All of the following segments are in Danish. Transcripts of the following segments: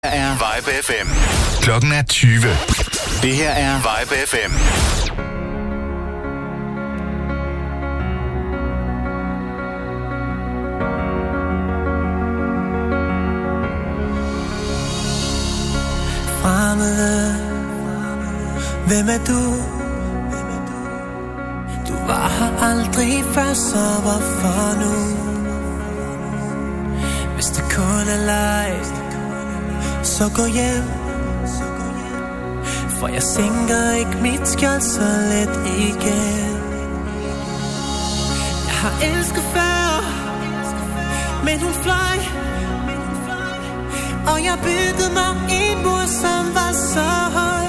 er Vibe FM. Klokken er 20. Det her er Vibe FM. Fremmede, hvem er du? Du var her aldrig før, så hvorfor nu? Hvis det kun er leg, så gå hjem. For jeg sænker ikke mit skjold så let igen. Jeg har elsket før, men hun fløj. Og jeg byggede mig en mur, som var så høj.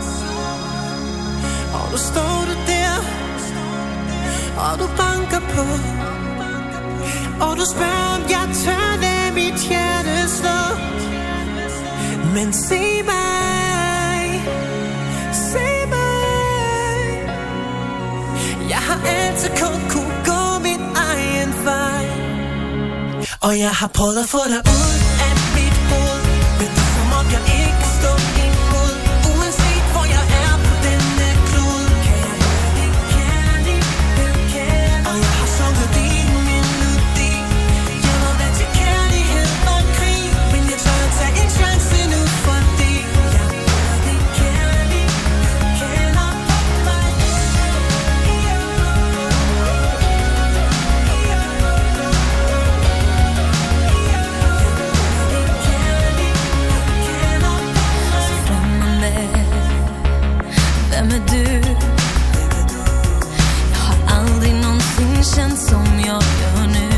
Og nu står du der, og du banker på. Og du spørger, om jeg tør lade mit hjerte slå. Men se mig, se mig. Jeg har altid kun kunne gå min egen vej. Og jeg har prøvet at få dig ud af mit hoved. Men det er som om jeg ikke kan stå imod. Uanset hvor jeg er på denne klode. Kan jeg høre din kærlighed? Og jeg har sunget din melodi. Jeg må være til kærlighed og krig. Men jeg tør at tage en chance nu, fordi jeg hører din kærlighed kalder på mig. Hvem er du? Jeg har aldrig någonsin känt som jag gör nu.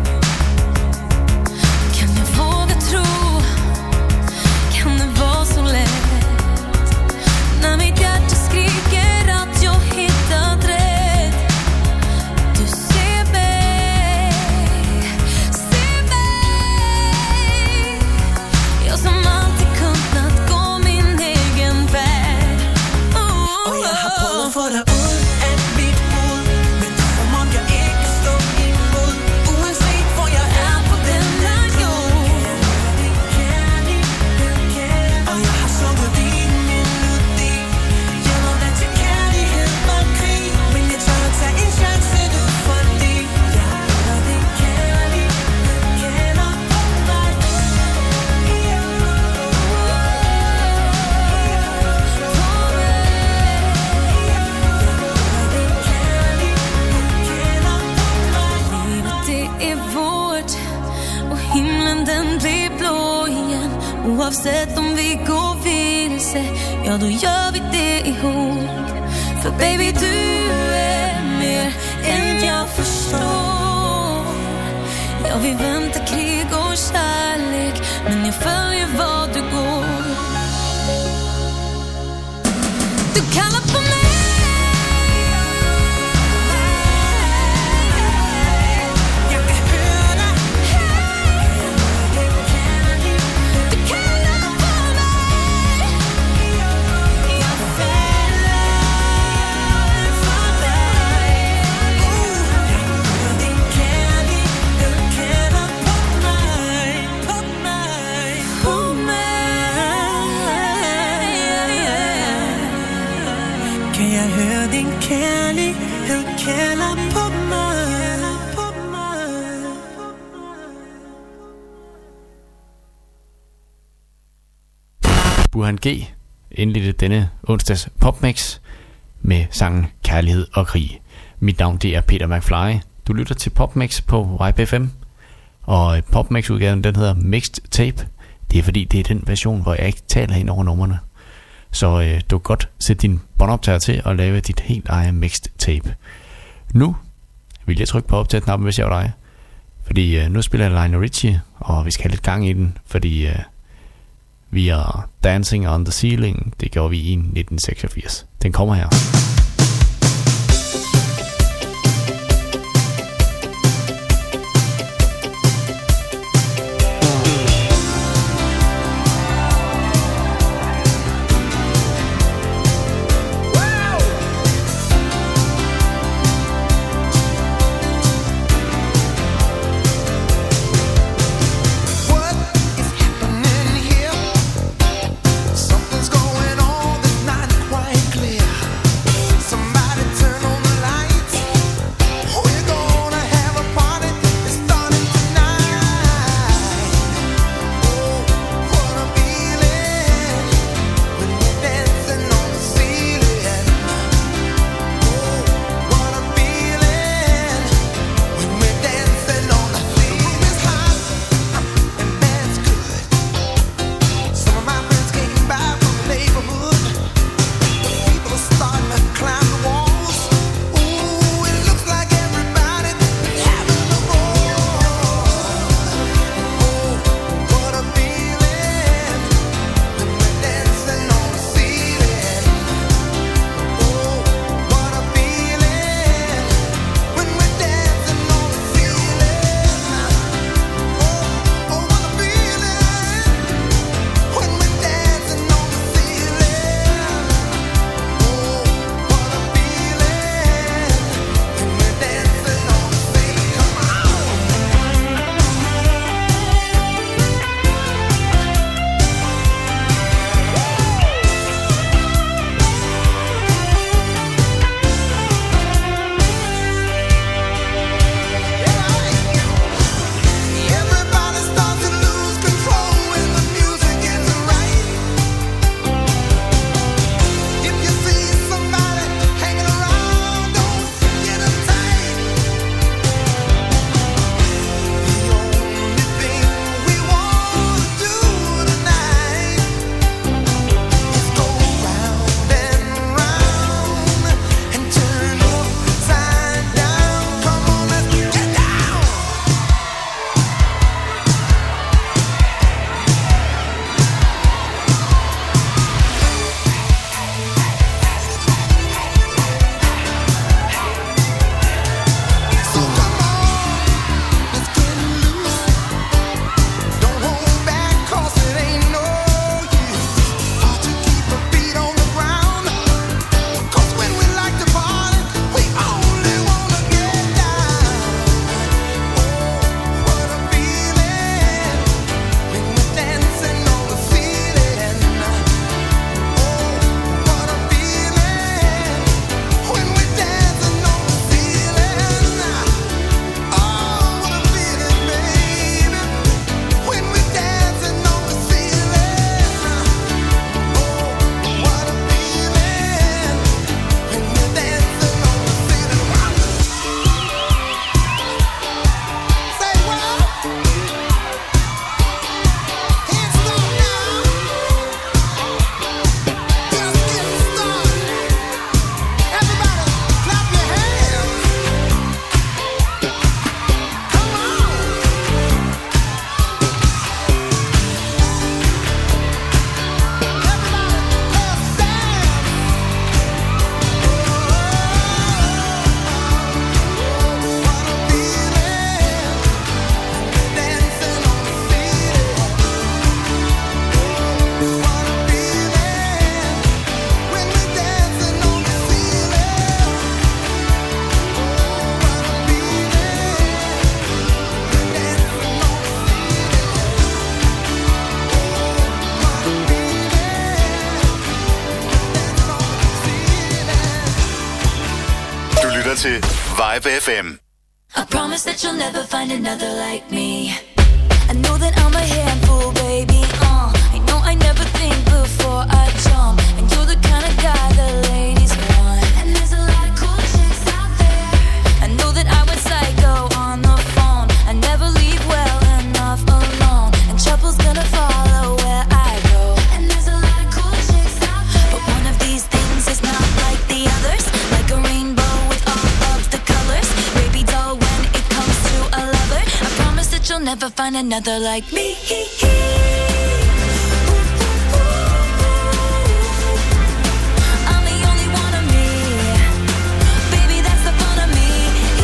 Kan jag våga tro? Kan det vara så lätt? När mitt hjärta skriker att jag hittat rätt. Du ser mig, ser mig. Jag som alltid kunnat gå min egen väg. Og jeg har prøvet at få dig ud af mit hoved. Men det er som om jeg ikke kan stå imod. Uanset hvor jeg er på denne jord. Og jeg har sunget din melodi. Jeg må være til kærlighed og krig. Men jeg tør at tage en chance nu, fordi jeg hører din kærlighed kalder på mig. Himlen den blir blå igen. Oavsett om vi går vilse, ja då gör vi det ihop. För baby du är mer än jag förstår. Jag vill vänta krig och kärlek, men jag följer vad du går. Du kallar på mig. Kan jeg høre din kærlighed kalder på mig? Burhan G. indledte denne onsdags popmix med sangen Kærlighed og Krig. Mit navn det er Peter McFly. Du lytter til popmix på YPFM. Og popmix-udgaven den hedder Mixed Tape. Det er fordi det er den version, hvor jeg ikke taler ind over numrene. Så du kan godt sætte din båndoptager til og lave dit helt eget mixed tape. Nu vil jeg trykke på optag-knappen, hvis jeg var dig. Fordi nu spiller jeg Lionel Richie, og vi skal have lidt gang i den. Fordi vi er Dancing on the Ceiling. Det gjorde vi i 1986. Den kommer her. What is happening here? til Vibe FM. I promise that you'll never find another like me. I know that I'm a handful, baby. I know I never think before I jump, and you're the kind of guy the ladies want. And there's a lot of cool chicks out there. I know that I went psycho on the phone. I never leave well enough alone, and trouble's gonna follow where I go. And there's a lot of cool chicks out there, but one of these things is not like the others. Like a rainbow with all of the colors. Baby doll, when it comes to a lover, I promise that you'll never find another like me. I'm the only one of me. Baby, that's the fun of me.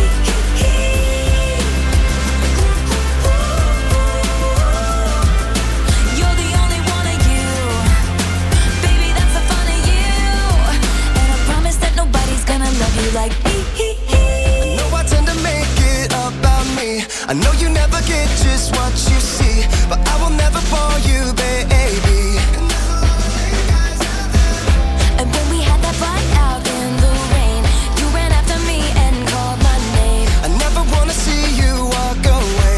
You're the only one of you. Baby, that's the fun of you. And I promise that nobody's gonna love you like me. I know I tend to make it about me. I know you never get just what you see, but I will never bore you, baby. And when we had that fight out in the rain, you ran after me and called my name. I never wanna see you walk away,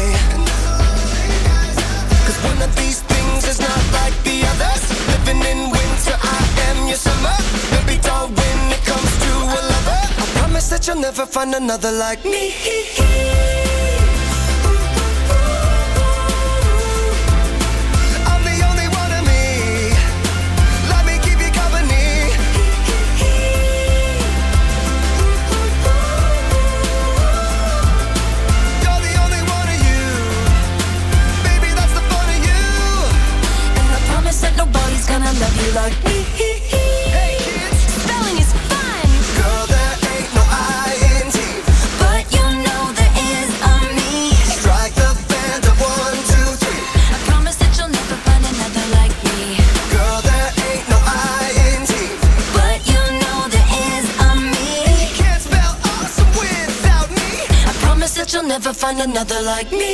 'cause one of these things is not like the others. Living in winter, I am your summer. Baby doll, when it comes to a lover, I promise that you'll never find another like me. I'm the only one of me. Let me keep you company. You're the only one of you. Baby, that's the fun of you. And I promise that nobody's gonna love you like me. Hey kids, Spelling is fun, girl, there ain't no I-N-T. but you know there is a me. Strike the band of 1, 2, 3. I promise that you'll never find another like me. Girl, there ain't no I-N-T. But you know there is a me. Can't spell awesome without me. I promise that you'll never find another like me.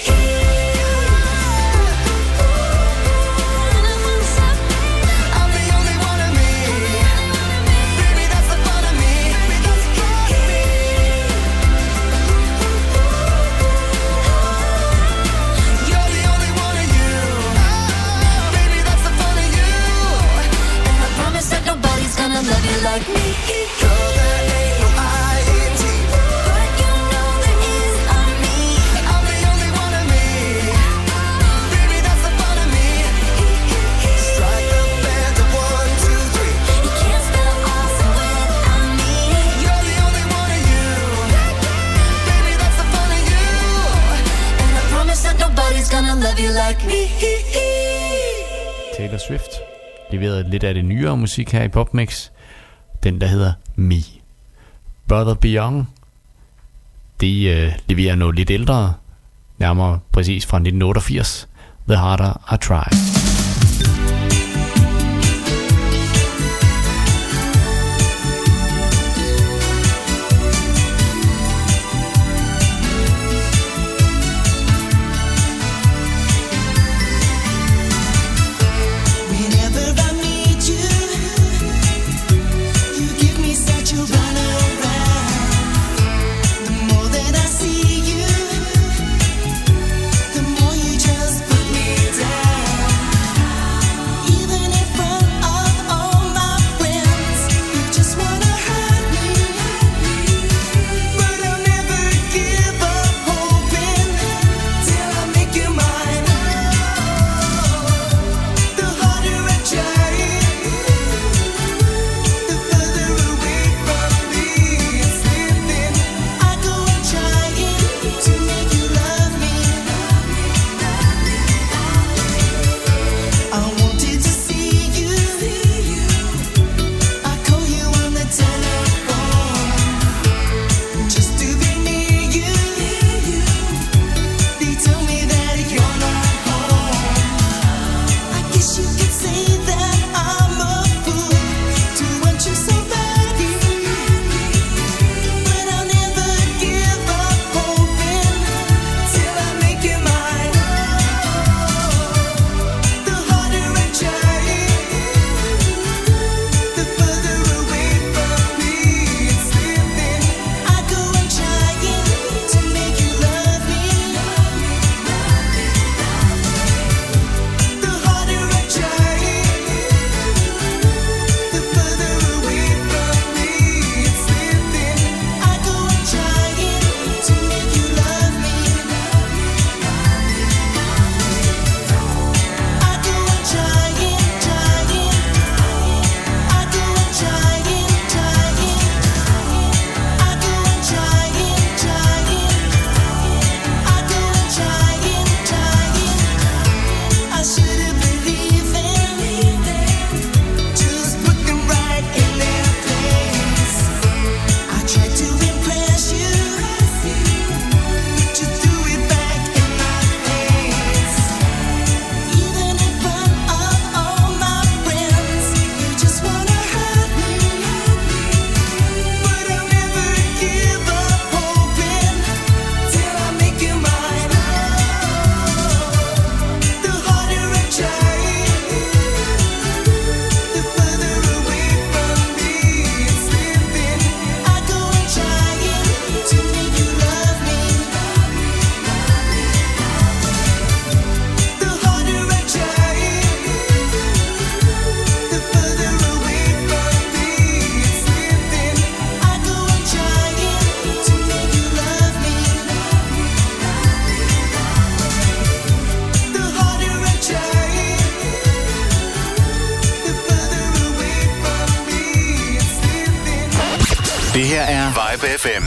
I'm the only one of me. Baby, that's the fun of me. You're the only one of you. Baby, that's the fun of you. And I promise that nobody's gonna love you like me. Girl, there ain't no I-N-T. But you know there is a me. I'm the only one of me. Baby, that's the fun of me. Strike the band of 1, 2, 3. You can't spell awesome without me. You're the only one of you. Baby, that's the fun of you. And I promise that nobody's gonna love you like me. Taylor Swift leverede lidt af det nyere musik her i PopMix. Den der hedder Me. Brother Beyond, de leverer noget lidt ældre, nærmere præcis fra 1988. The Harder I Try. Whenever I meet you, you give me such a runaround. The more that I see you, the more you just put me down. Det her er Vibe FM.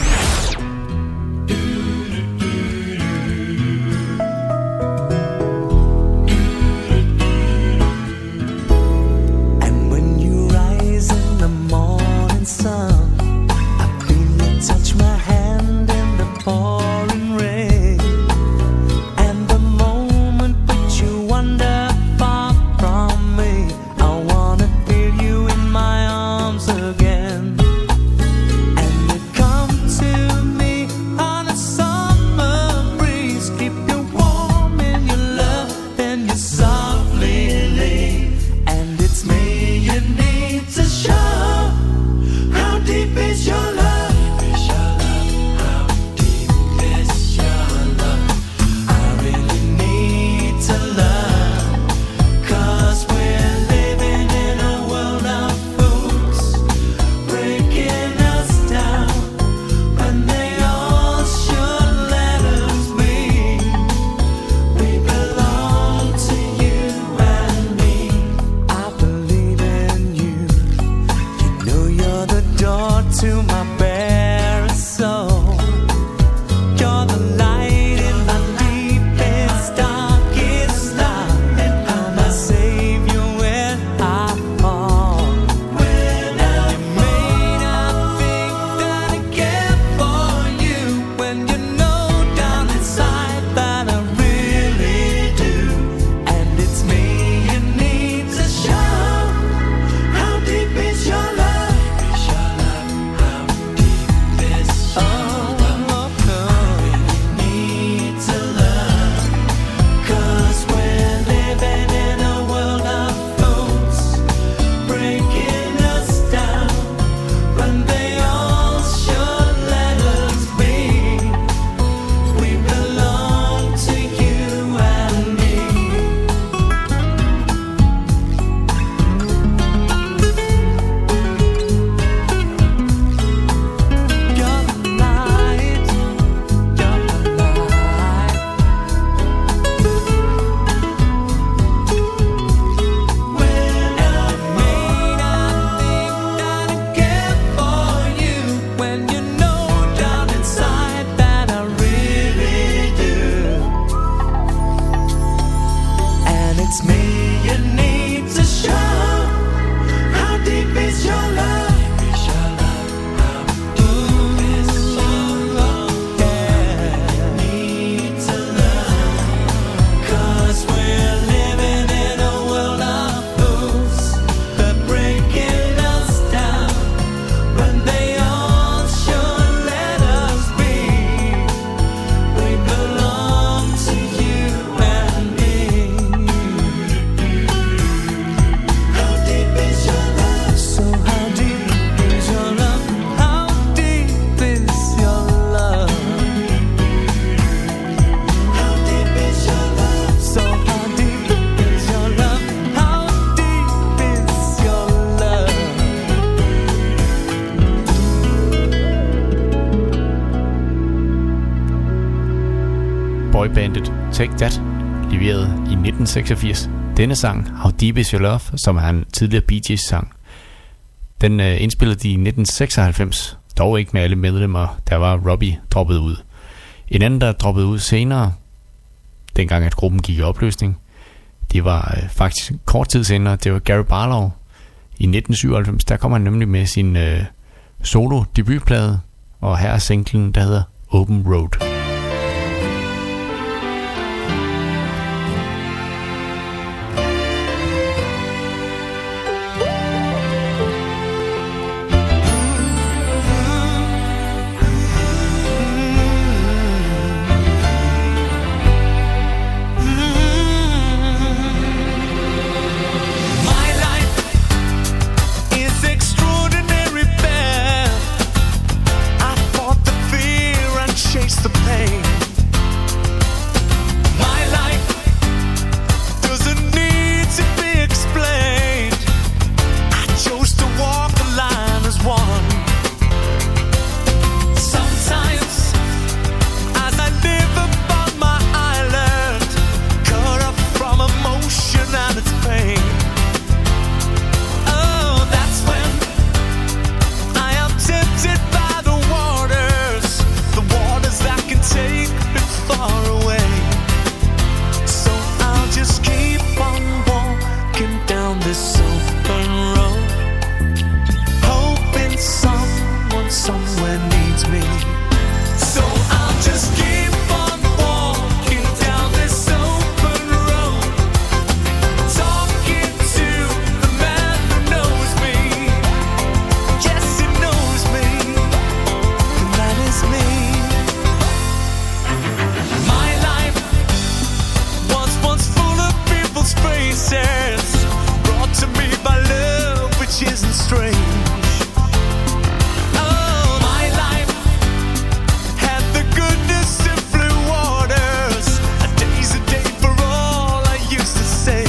And when you rise in the morning sun, I feel you touch my hand in the pouring rain. And the moment that you wander far from me, I wanna feel you in my arms again. And you come to me on a summer breeze, keep you warm in your love, then you softly leave. And it's me you need to show. How deep is your love? How deep is your love? I really need to learn, 'cause we're living in a world of fools, breaking us down when they all should let us be. We belong to you and me. I believe in you. You know you're the door to my bare soul. You're the light in my deepest, darkest night. You're my savior when I fall. You may not think that I care for you, when you know down inside that I really do. And it's me you need to show. How deep is your love? How deep is your love? Need to learn, 'cause we're living in a world of fools, breaking us down when they all should let us be. We belong to you and me. You're the light, you're the light. When I may not think that I care for you, when you know down inside that I really do. And it's me you need to show. How deep is your love? Need to learn, 'cause we're living in a world of fools, they're breaking us down when they all should let us be. We belong to you and me. How deep is your love? So how deep is your love? How deep is your love? How deep is your love? So how deep is your love? How deep is your love? Boybandet Take That leverede i 1986 denne sang, How Deep Is Your Love, som er en tidligere Bee Gees sang. Den indspillede de i 1996, dog ikke med alle medlemmer, der var Robbie droppet ud. En anden, der droppede ud senere, dengang at gruppen gik i opløsning, det var faktisk kort tid senere, det var Gary Barlow. I 1997, der kom han nemlig med sin solo debutplade, og her er singlen, der hedder Open Road. My life is extraordinary bad. I fought the fear and chased the pain. this open road, hoping someone somewhere needs me. So I'll just keep on walking down this open road, talking to the man who knows me. Yes, he knows me, and that is me. My life was once full of people's faces, brought to me by love which isn't strange. Oh, my life had the goodness of blue waters. A day's a day for all I used to say.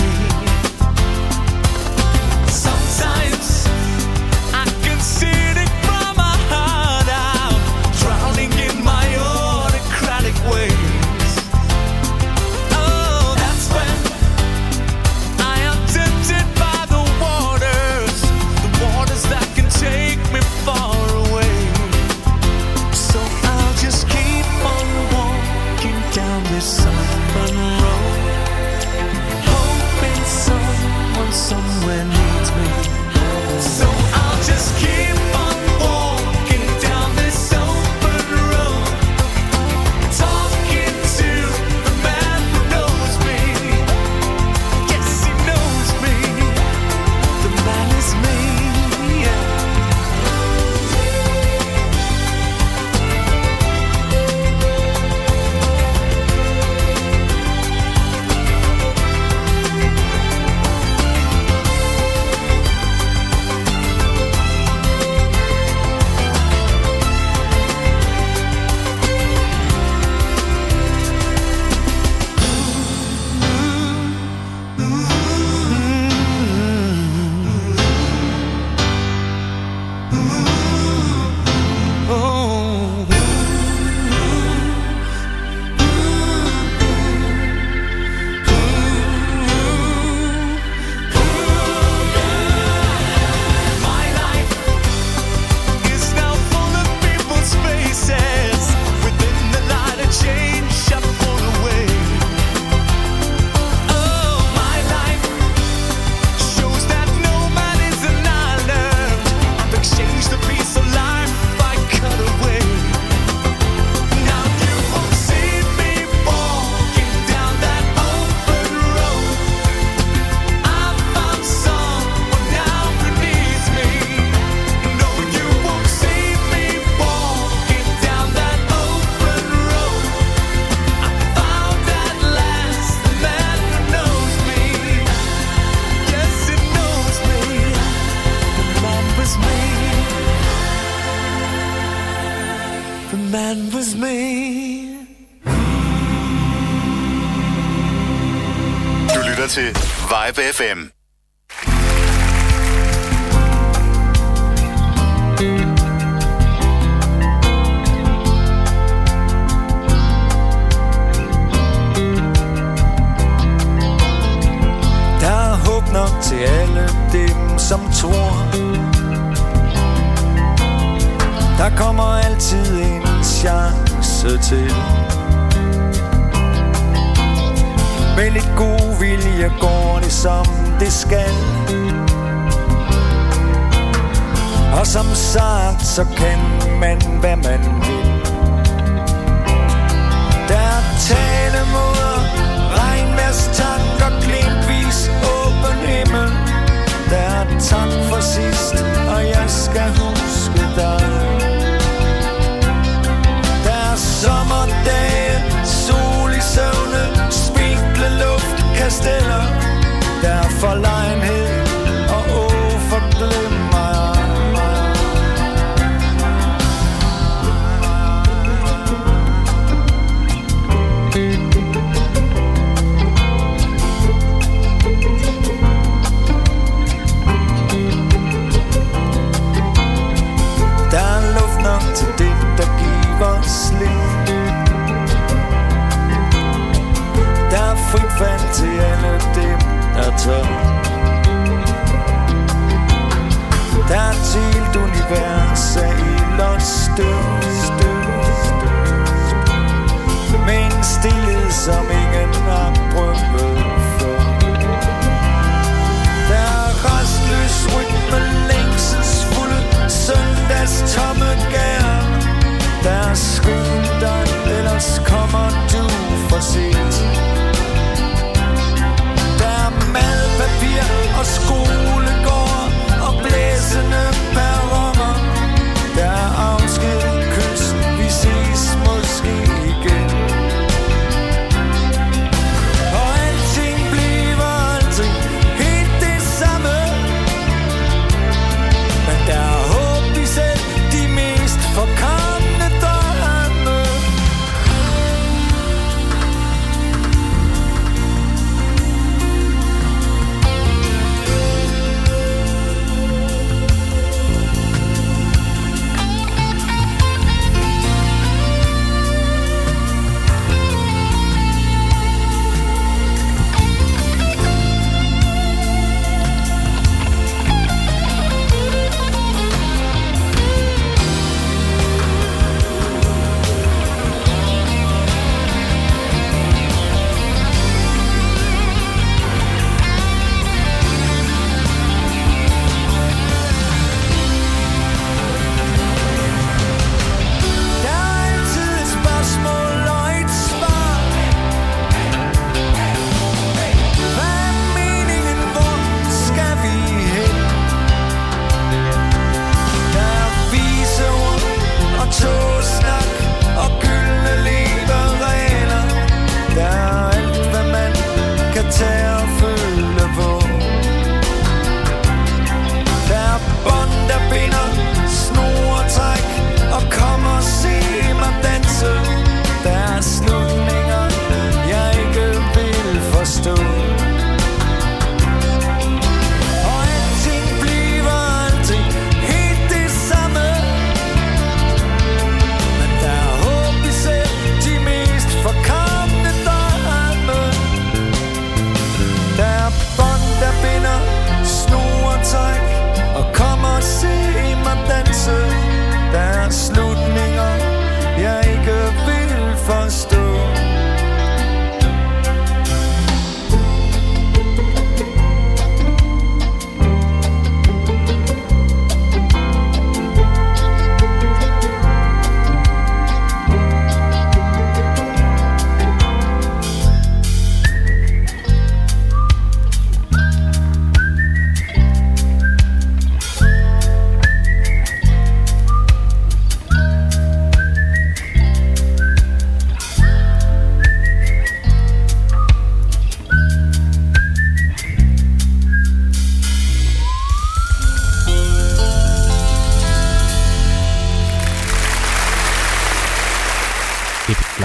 Sometimes I consider it from my heart out, drowning in my autocratic ways. Oh, that's when I am tempted by the waters that can take me far away. So I'll just keep on walking down this open road, hoping someone somewhere needs me. So I'll just keep on walking down this open road, talking to the man who knows me. Yes, he knows me. The man is me. Yeah. My life is now full of people's faces. Within the light of change, I pull away. Oh, my life shows that no man is an island. I've exchanged a piece of life I cut away. Now you won't see me walking down that open road. I've found someone now who needs me. No, you won't see me walking down that open road. I found at last the man who knows me. Yes, he knows me. The man was me. The man was me. Du lytter til Vibe FM. Der er håb nok til alle dem, som tror. Der kommer altid en chance til. Med lidt god vilje går det som det skal. Og som sagt, så kan man hvad man vil. Der er talemåder, regnvejrstanker, glimtvis åben himmel. Der er tak for sidst, og jeg skal huske dig. Der er sommerdage, sol i søvne, spinkle luftkasteller. Der er forlegenhed og forglemmer. Der er luft nok til det, der giver slip. Der er frit fald til alle dem, der tør.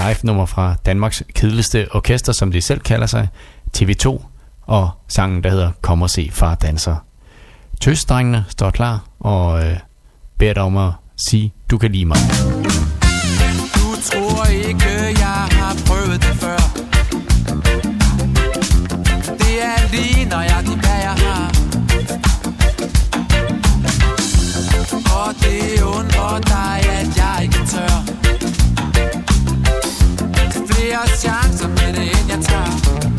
live-nummer fra Danmarks kedeligste orkester, som de selv kalder sig, TV2, og sangen, der hedder Kom og se far danser. Tøsdrengene står klar og beder dig om at sige, du kan lide mig. Du tror ikke, jeg har prøvet det før. Det er lige nøjagtigt, hvad jeg har. Og det undrer dig, at jeg ikke tør. Flere chancer med det, end jeg tager.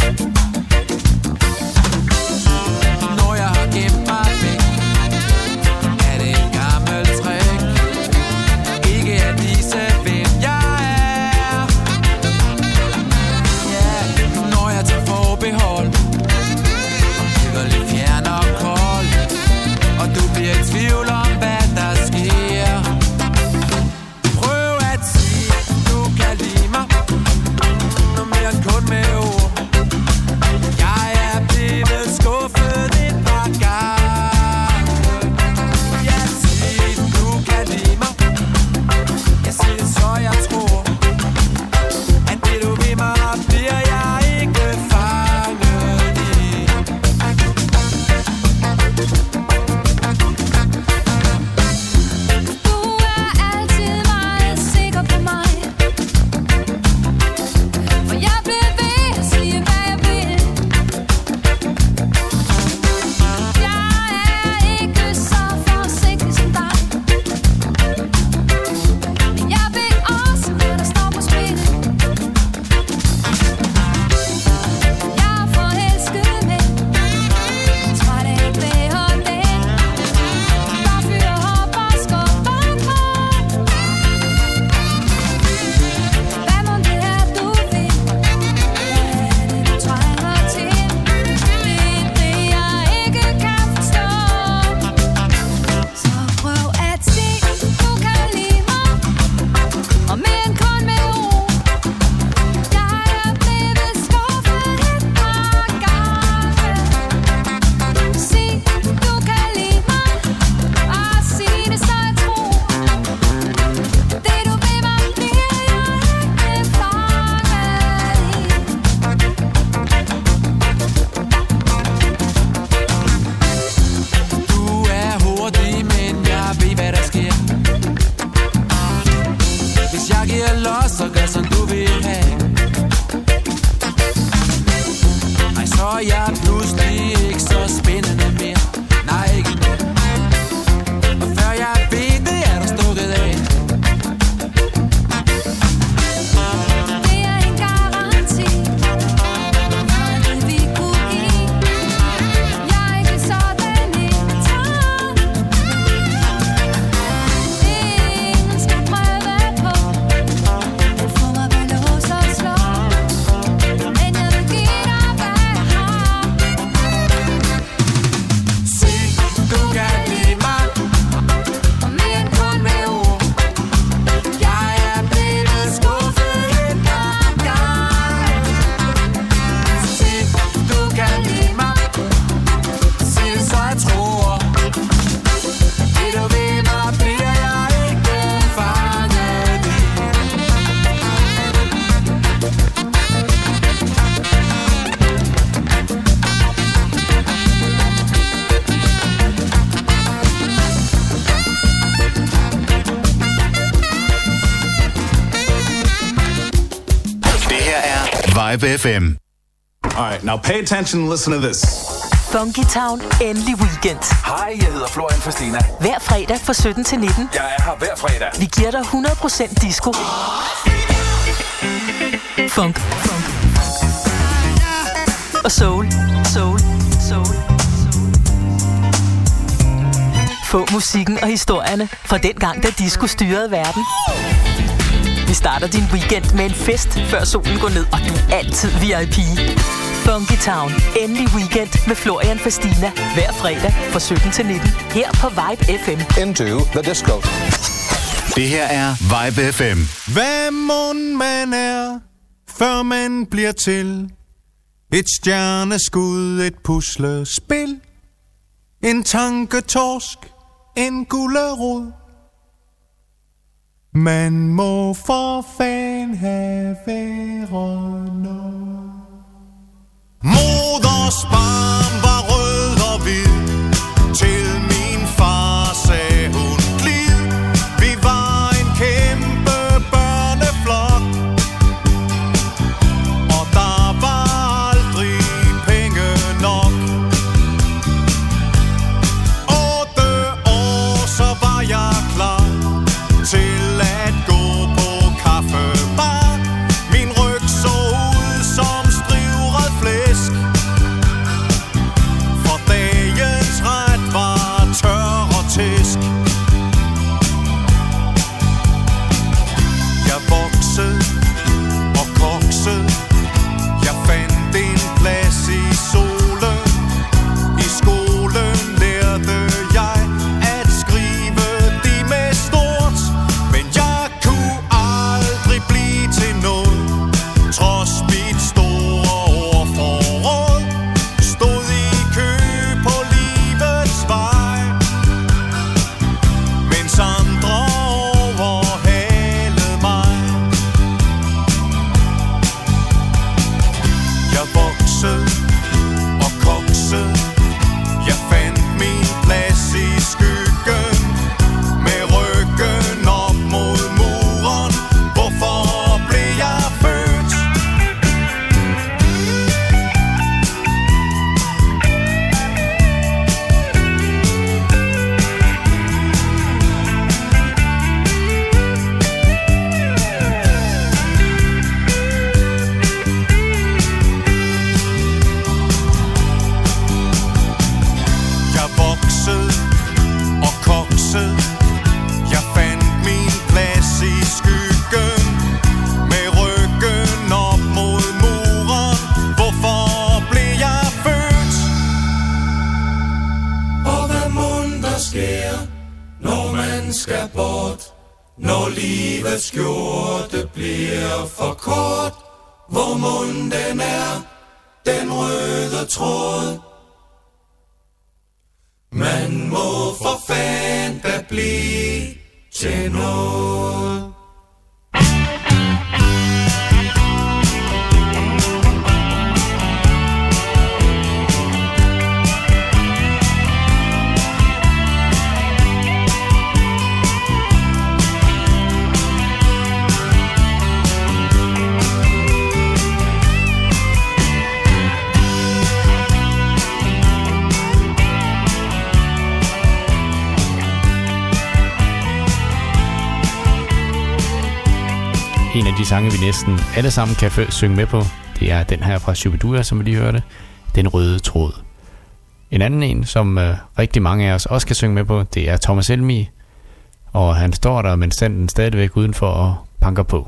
Når jeg har gemt mig væk, er det et gammelt trick. Ikke at vise, hvem jeg er. Ja, når jeg tager forbehold, og bliver lidt fjern og kold, og du bliver i tvivl om, hvad der sker. Prøv at sige, du kan lide mig, noget mere end kun med ord. Jeg er blevet skuffet et par gange. Jeg siger, du kan lide mig. Jeg siger, så jeg tror, at det du vil mig, bliver jeg ikke fanget i. Du er altid meget sikker på mig, for jeg bliver ved at sige, hvad jeg vil. Jeg er ikke så forsigtig som dig, men jeg ved også, hvad der står på spil. Jeg er forelsket med, tror det ikke vil holde det. Der fyrer op og skubber på. Hvad må det er, du vil? Hvad er det, du trænger til? Det er det, jeg ikke kan forstå. Så prøv at se, du kan lide mig, og mere end kun med ord. Jeg er blevet skuffet et par gange. Sig, du kan lide mig, og sig det, så jeg tror. Det du vil mig, bliver jeg ikke fanget i. Du er hurtig, men jeg ved, hvad der sker. Hvis jeg giver los, så gør som du vil have. Ej, så er jeg pludselig ikke så spændende mere. Nej, ikke mere. Og før jeg ved det, er du stukket af. Det er en garanti, det vi kunne give. Jeg er ikke sådan en tand. Ingen skal prøve på at få mig ved lås og slå. Men jeg vil give dig, hvad jeg har. Sig, du kan lide mig, Og mere end kun med ord. jeg er blevet skuffet et par gange. Sig, du kan lide mig, sig det, så jeg tror. Det du vil mig, bliver jeg ikke fanget i. Det her er Vibe FM. All right, now pay attention and listen to this. Funky Town, endelig weekend. Hej, jeg hedder Florian Fastina. Hver fredag fra 17 til 19. Jeg er her hver fredag. Vi giver dig 100% disco. Funk. Og soul. Få musikken og historierne fra den gang, da disco styrede verden. Vi starter din weekend med en fest, før solen går ned, og du er altid VIP. Funky Town, endelig weekend med Florian Fastina. Hver fredag fra 17 til 19. Her på Vibe FM. Into the disco. Det her er Vibe FM. Hvad mon man er, før man bliver til et stjerneskud, et puslespil, en tanketorsk, en gulerod. Man må for fan den have været nok. Moders barm var rød og hvid, til min far sagde hun glid. Vi var en kæmpe børneflok, og der var aldrig penge nok. 8 år, så var jeg klar til at gå på kaffebar. Min ryg så ud som strivret flæsk, for dagens ret var tør og tæsk. Jeg voksede og koksede, jeg fandt en plads i solen. I skolen lærte jeg at skrive de med stort, men jeg kunne aldrig blive til noget, trods mit store ordforråd. Stod i kø på livets vej, mens andre overhalede mig. Jeg voksede og koksede, jeg fandt min plads i skyggen, med ryggen op mod muren. Hvorfor blev jeg født? Jeg voksede og koksede, jeg fandt min plads i skyggen, med ryggen op mod muren. Hvorfor blev jeg født? Og hvad mon der sker, når man skal bort, når livets skjorte bliver for kort. Hvor mon den er, den røde tråd. Man må for fanden da blive til noget. En af de sange, vi næsten alle sammen kan synge med på, det er den her fra Shubidua, som vi lige hørte, Den Røde Tråd. En anden en, som rigtig mange af os også kan synge med på, det er Thomas Helmig, og han står der, mens den stadigvæk udenfor og banker på.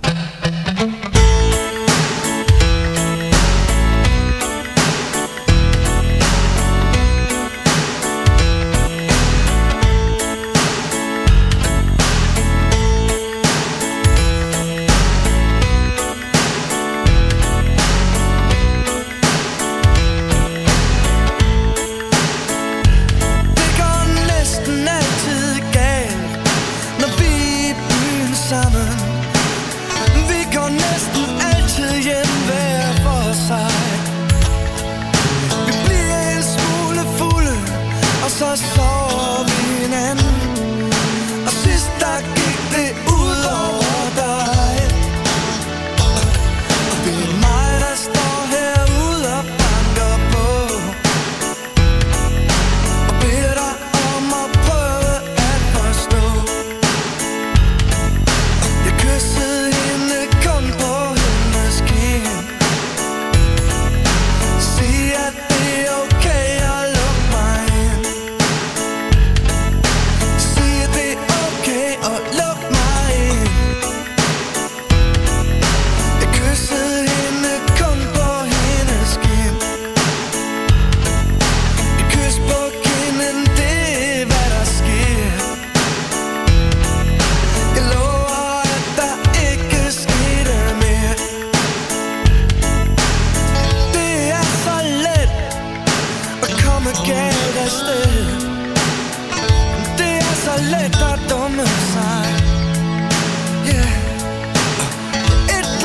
Det går næsten altid galt, når vi er i byen sammen. Vi går næsten altid hjem hver for sig. Vi bliver en smule fulde, og så sover vi hinanden. Og sidst der gik det ud over dig. Og det er mig, der står herude og banker på, og beder dig om at prøve at forstå. Jeg kyssede hende kun på hendes kind. Sig at det er okay at lukke mig ind. Sig at det er okay at lukke mig ind. Jeg kyssede hende kun på hendes kind. Et kys på kinden, det er hvad der sker. Jeg lover at der ikke skete mere. Det er så let at komme galt afsted. Det er så let at dumme sig. Yeah. Et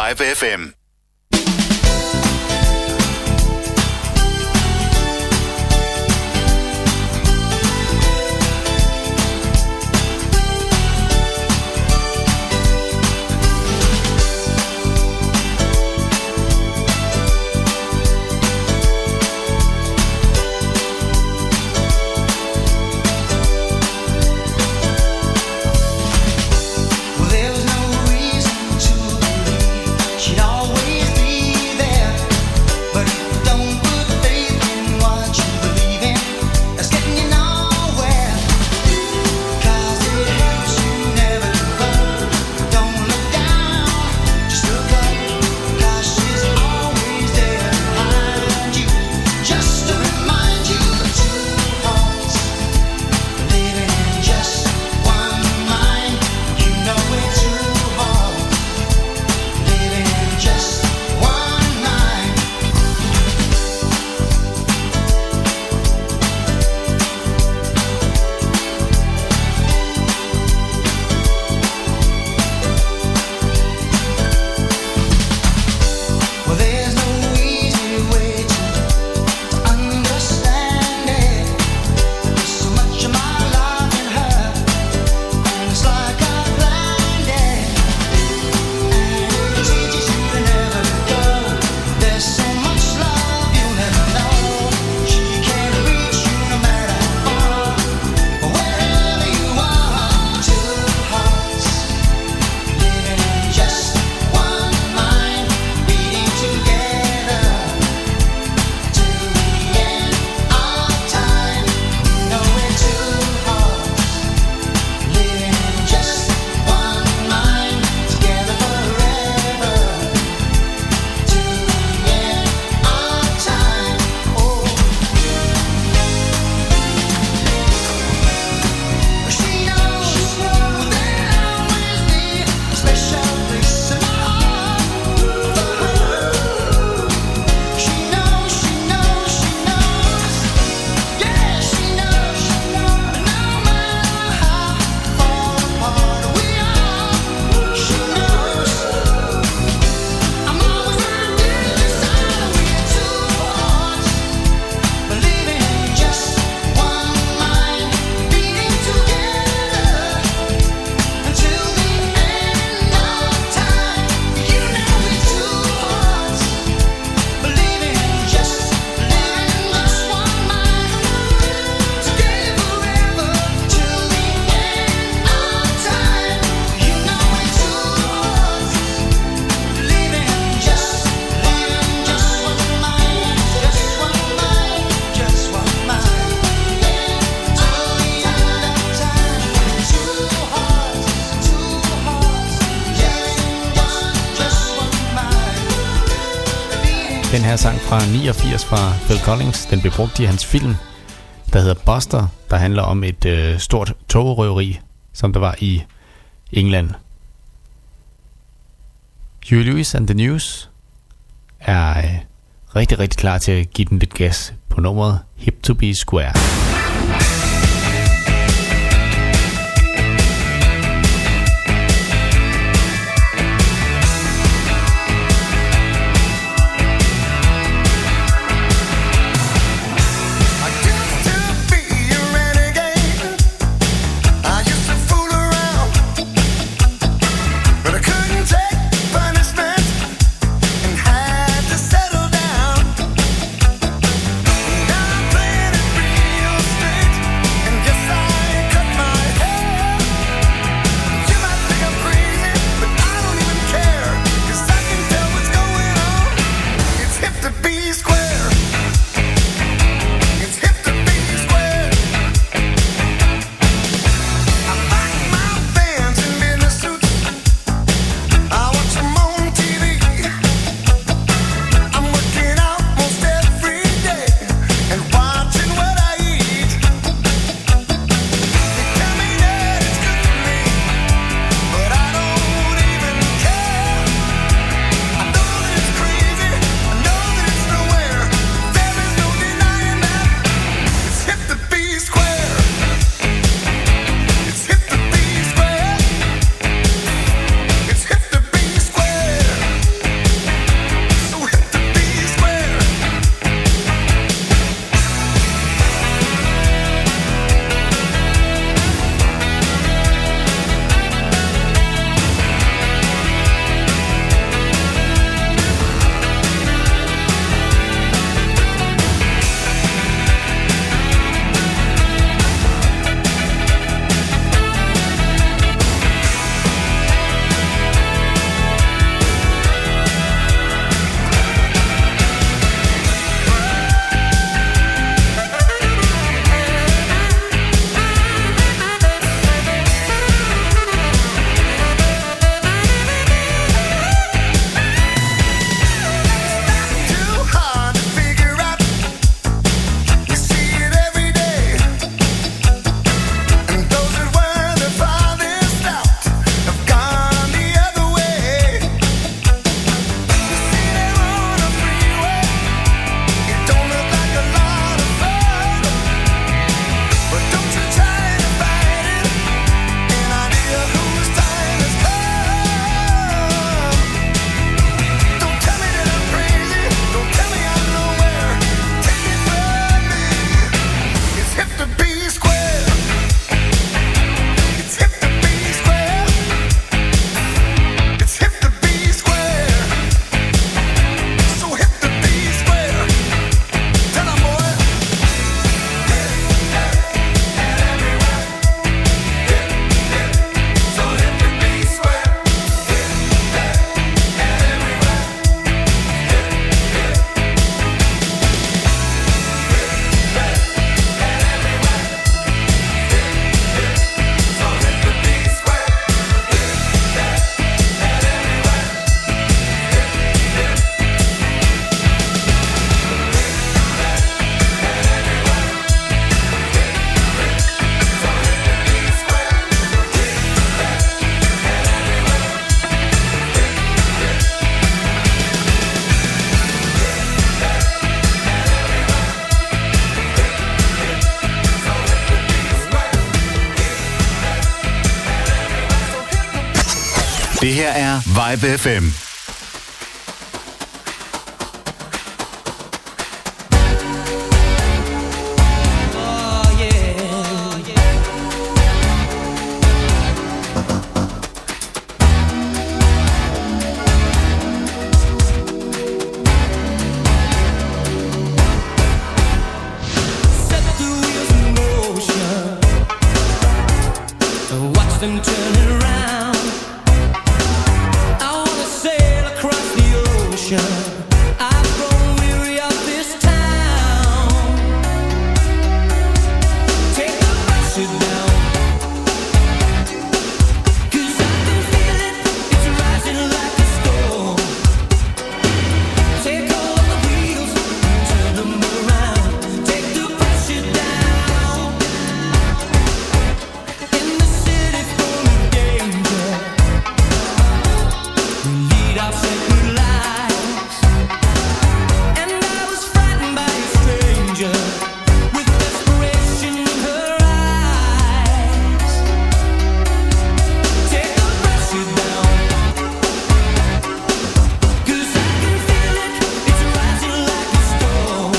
Vibe FM. Den her sang fra 89 fra Phil Collins, den blev brugt i hans film, der hedder Buster, der handler om et stort togrøveri, som der var i England. Huey Lewis and the News er rigtig, rigtig klar til at give den lidt gas på nummeret Hip to be Square. Now I'm playing it real Det her er Vibe FM. Them turning around. I wanna sail across the ocean. I've grown weary of this town. Take the pressure down, 'cause I can feel it, it's rising like a storm. Take all of the wheels and turn them around. Take the pressure down. In the city full of danger, we lead our sacred lives. And I was frightened by a stranger with desperation in her eyes. Take the pressure down, 'cause I can feel it, it's rising like a storm.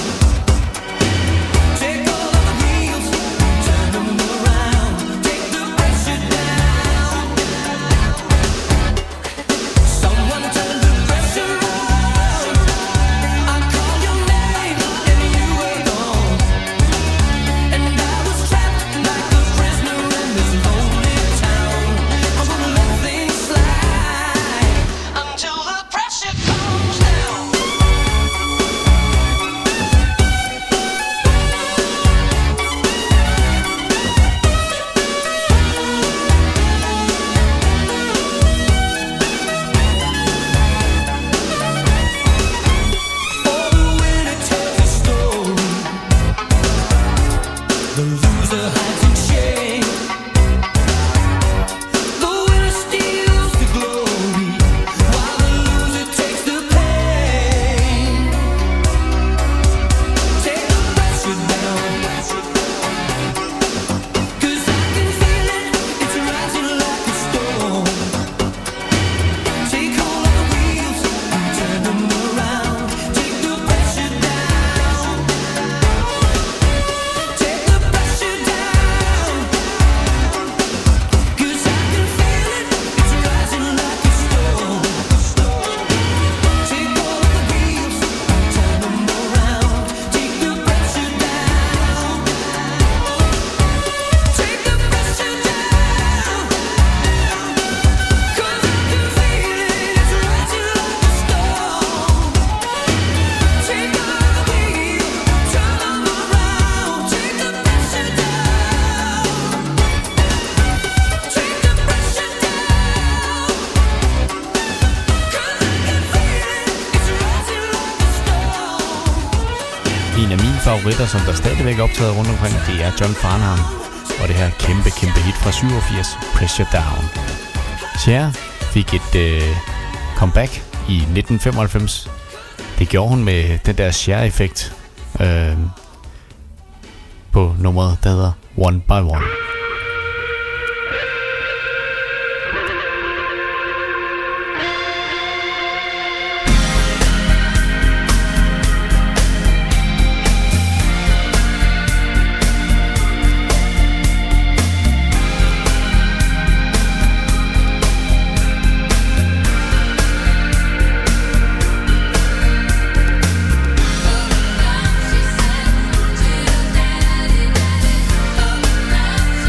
Take all of the wheels, turn them around. Take the pressure down. Someone turn the pressure on. I call your name and you were gone. And I was trapped like a prisoner in this lonely town. I'm gonna let things slide until the pressure comes down. Oh, the winner tells a story. The loser hides in shame. The winner steals the glory, while the loser takes the pain. Take the pressure down, 'cause I can feel it, it's rising like a storm. Take hold of the wheels and turn them around. Take the pressure down. Take the pressure down, 'cause I can feel it, it's rising like a storm. Take hold of the wheels and turn them around. Take the pressure down. Take the pressure down, 'cause I can feel it, it's rising like a storm. Take all of the wheels, turn them around. Take the pressure down. Take the pressure down, 'cause I can feel it, it's rising like a storm. En af mine favoritter, som der stadigvæk optræder rundt omkring, det er John Farnham. Og det her kæmpe hit fra 87, Pressure Down. Cher fik et comeback i 1995. Det gjorde hun med den der Cher-effekt på nummeret, der hedder One by One. She said to your daddy,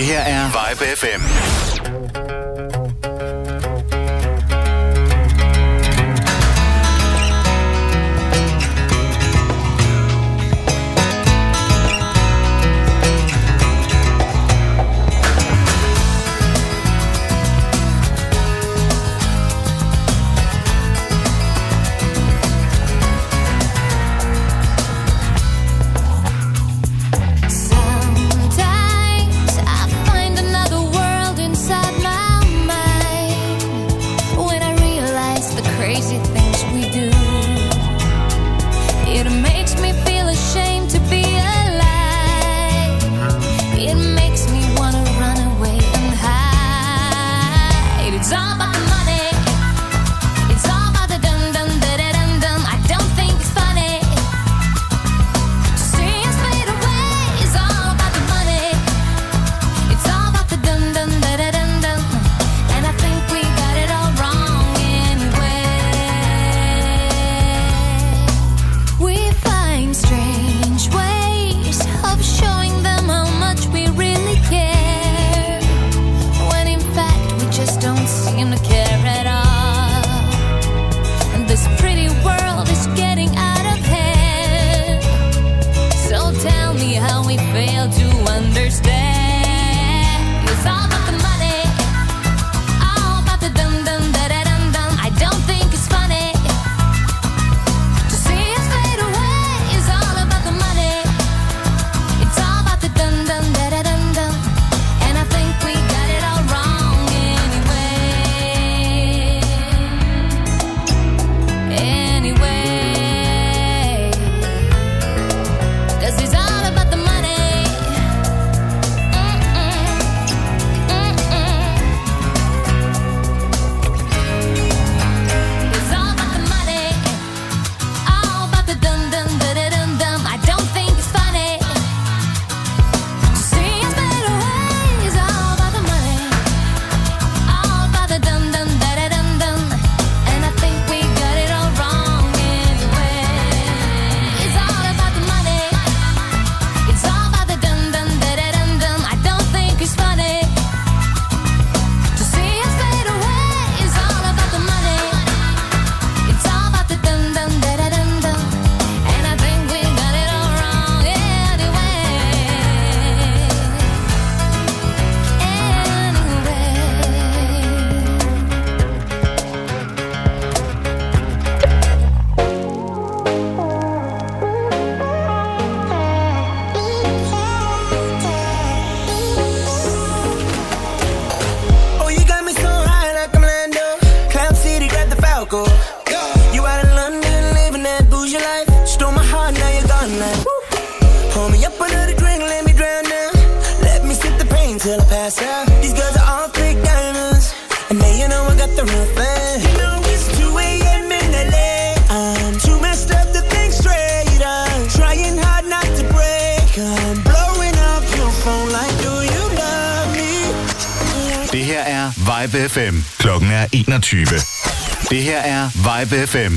her er Vibe FM. Vibe FM. Klokken er 21. Det her er Vibe FM.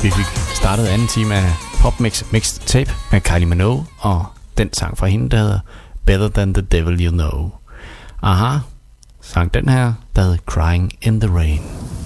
Vi fik startet anden time af PopMix Mixtape med Kylie Minogue, og den sang fra hende, der hedder Better Than The Devil You Know. Aha, sang den her, der hedder Crying in the Rain.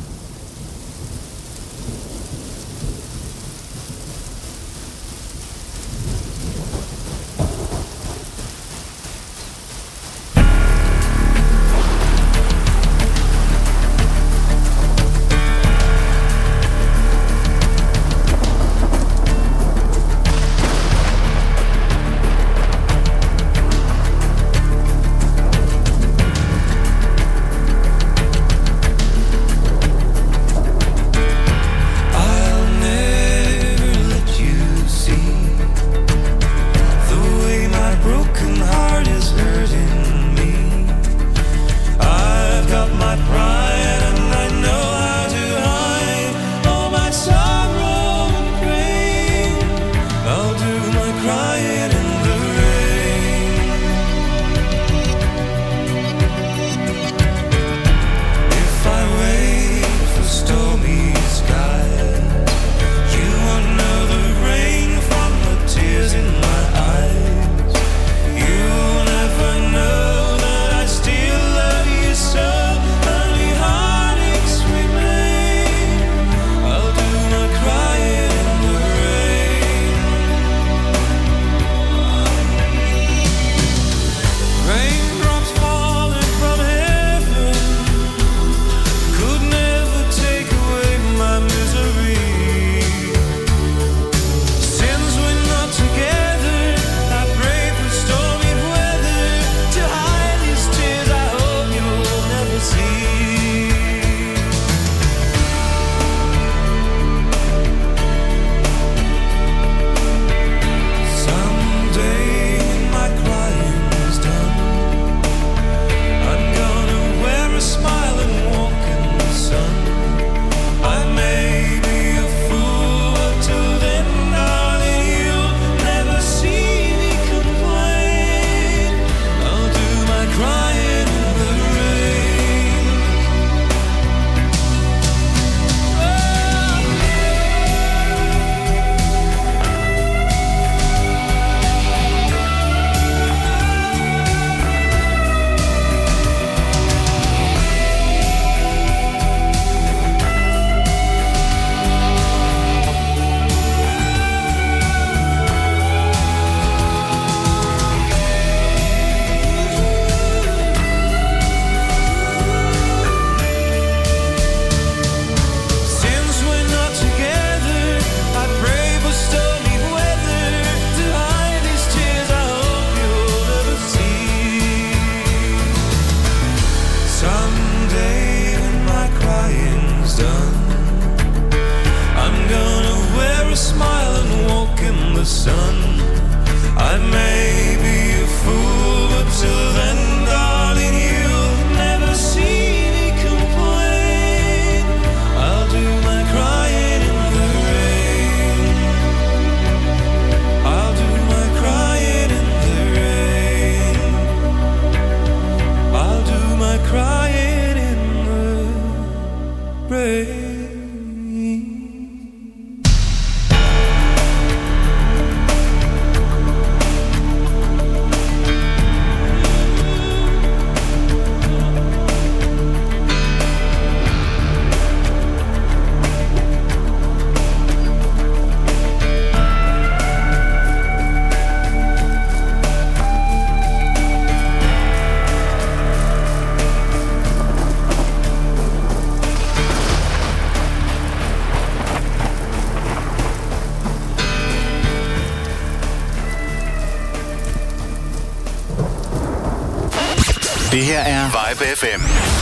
Det her er Vibe FM.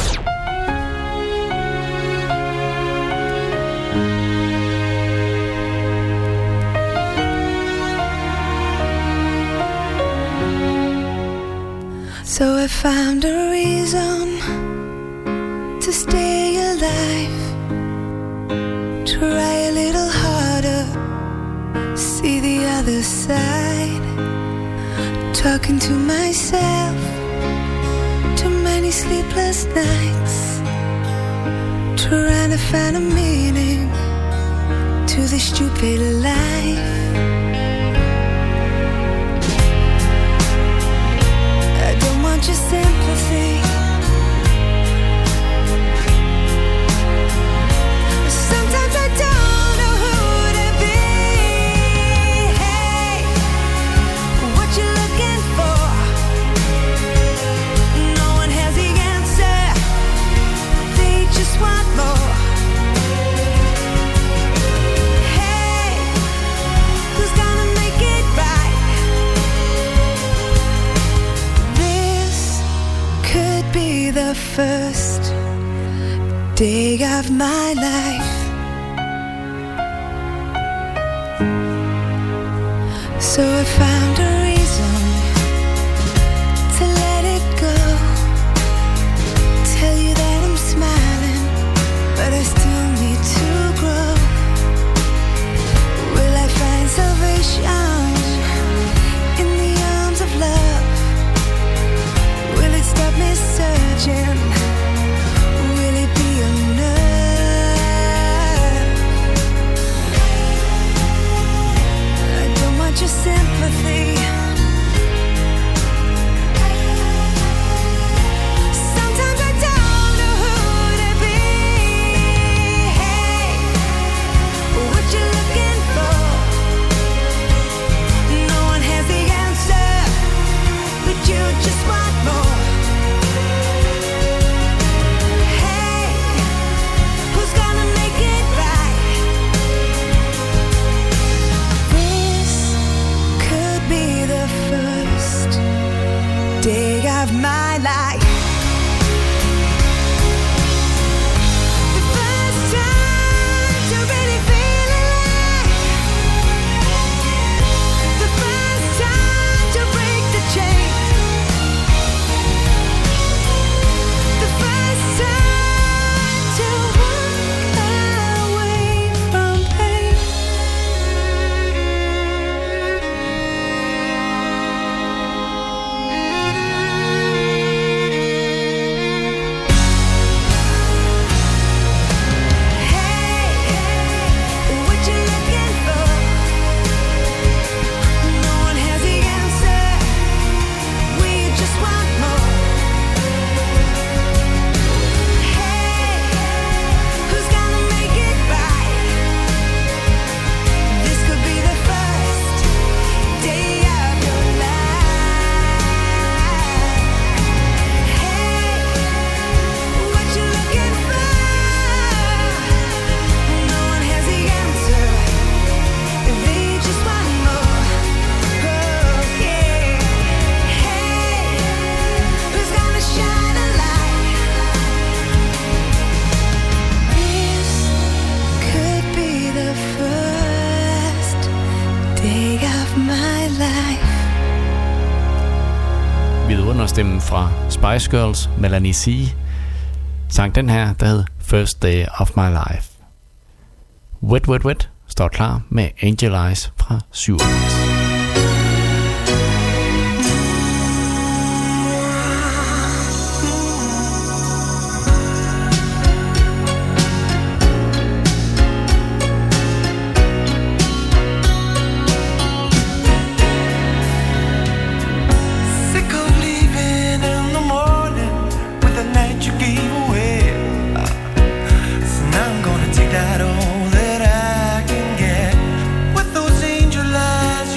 So I found a reason to stay alive. Try a little harder, see the other side. Talking to myself, too many sleepless nights. Trying to find a meaning to this stupid life. I don't want your sympathy. Sometimes I don't know who to be. Hey, what you looking for? No one has the answer. They just want more. Hey, who's gonna make it right? This could be the first day of my life. So I found a reason to let it go. Tell you that I'm smiling, but I still need to grow. Will I find salvation in the arms of love? Will it stop me searching? Will it be enough? I don't want your sympathy. Sometimes I don't know who to be. Hey, what you looking for? No one has the answer, but you just want more. Hey, who's gonna make it right? This could be the first day of my life. The first time to really feel alive. The first time to break the chain. The first time to walk away from pain. Hey, what you looking for? No one has the answer. We just want more. Hey, who's gonna make it right? This could be the first day of your life. Hey, what you looking for? No one has the answer. They just want more. Oh yeah. Hey, who's gonna shine a light? This could be the first day of my life. Vidunderstemmen fra Spice Girls, Melanie C. sang den her, der hed First Day of My Life. Wet Wet Wet står klar med Angel Eyes fra 87. Sick of leaving in the morning with the night you gave away. So now I'm gonna take that all that I can get. With those angel eyes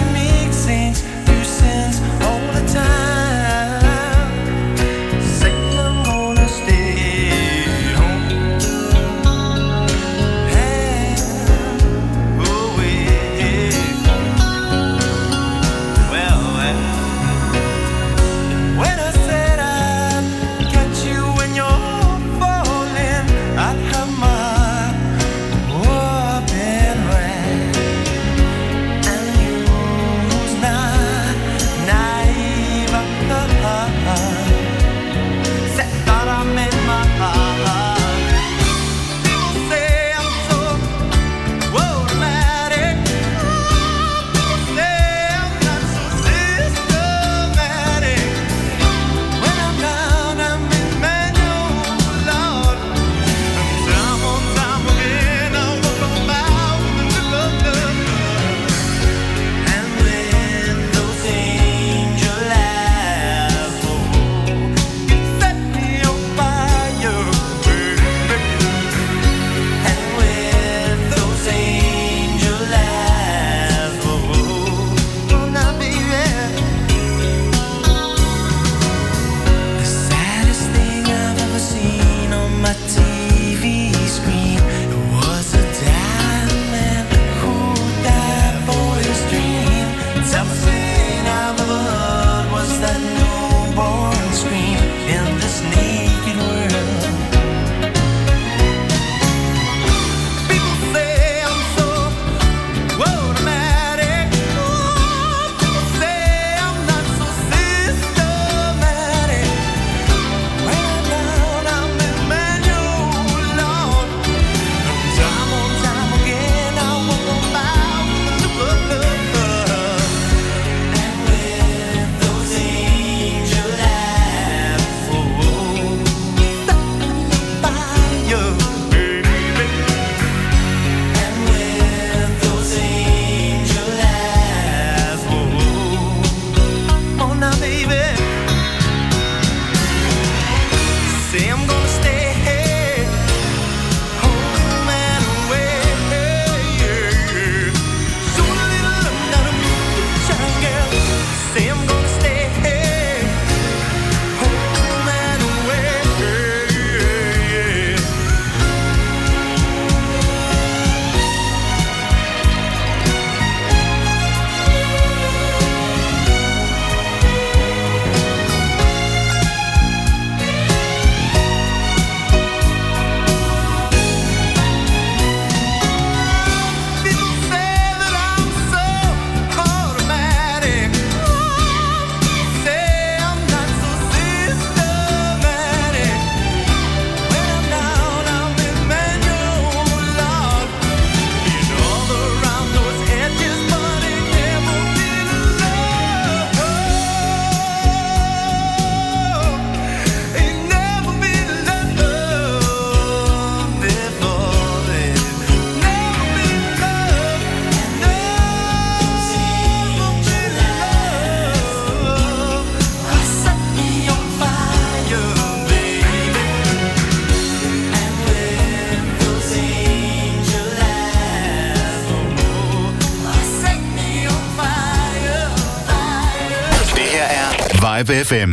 Vibe FM.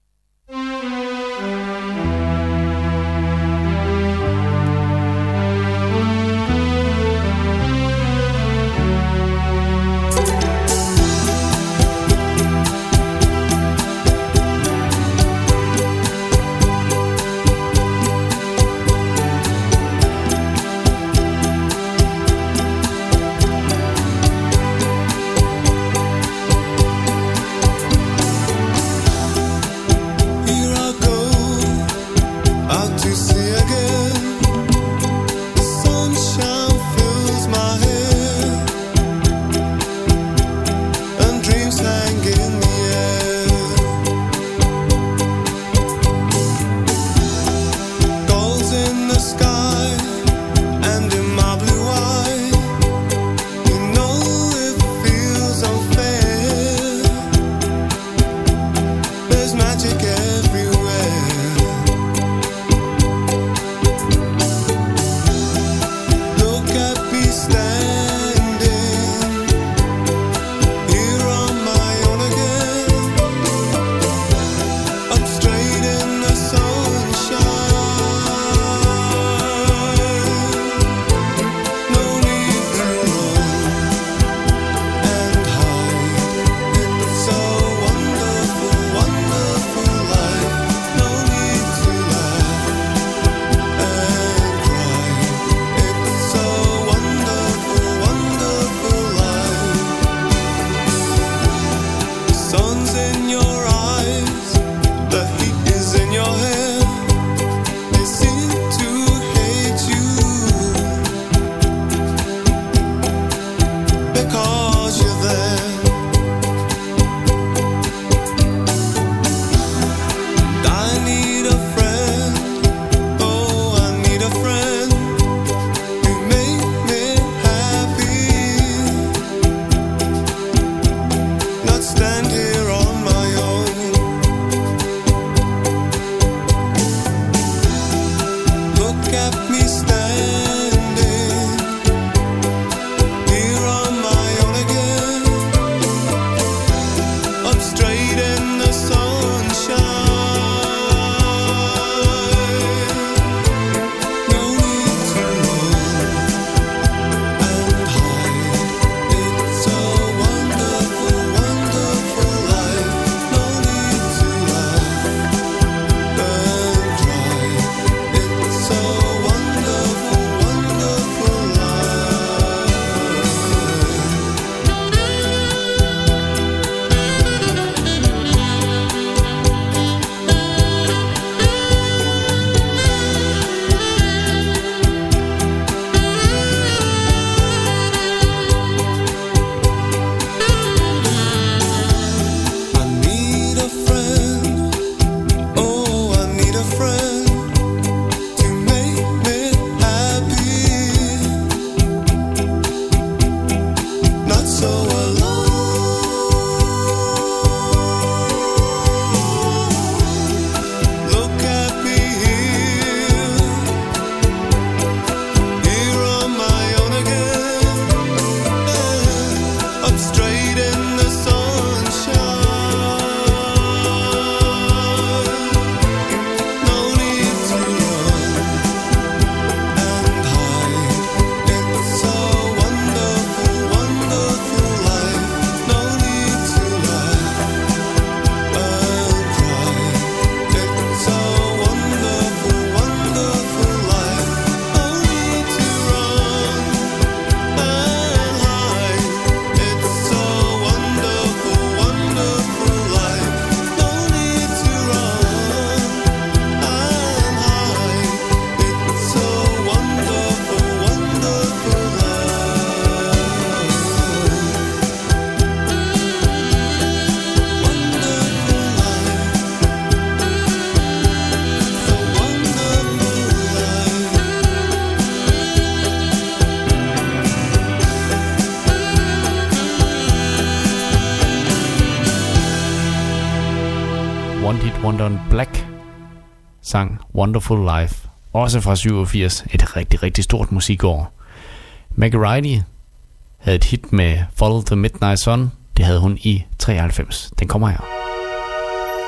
One Hit Wonder Black sang Wonderful Life, også fra 87, et rigtig, rigtig stort musikår. Maggie Reilly havde et hit med Follow the Midnight Sun, det havde hun i 93. Den kommer her.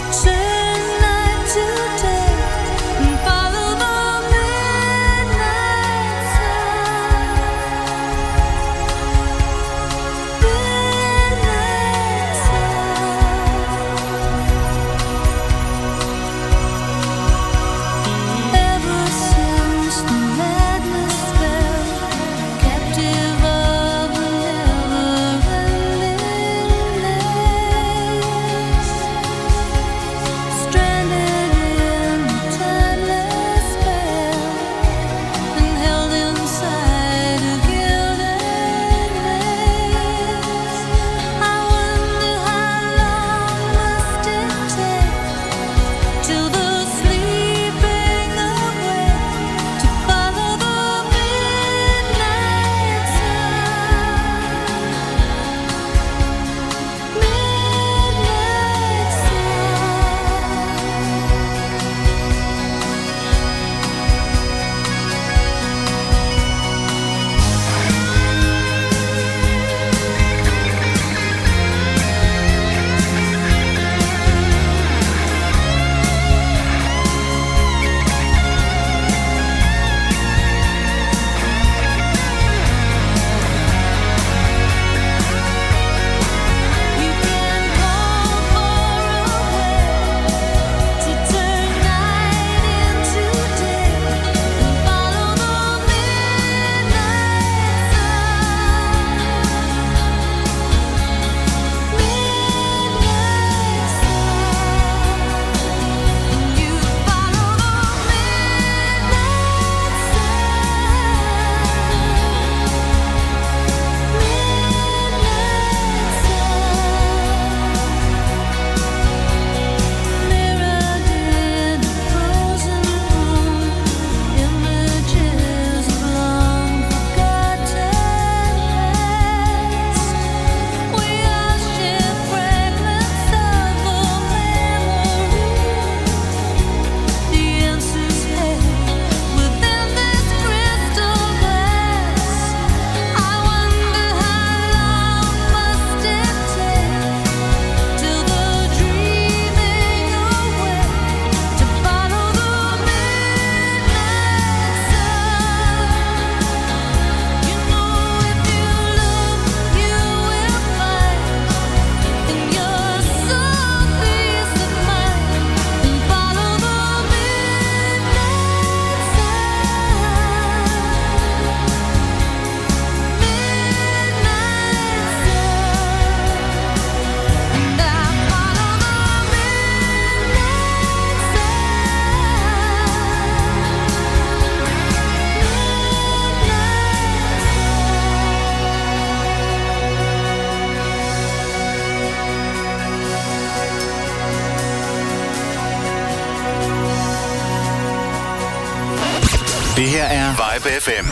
Det her er Vibe FM.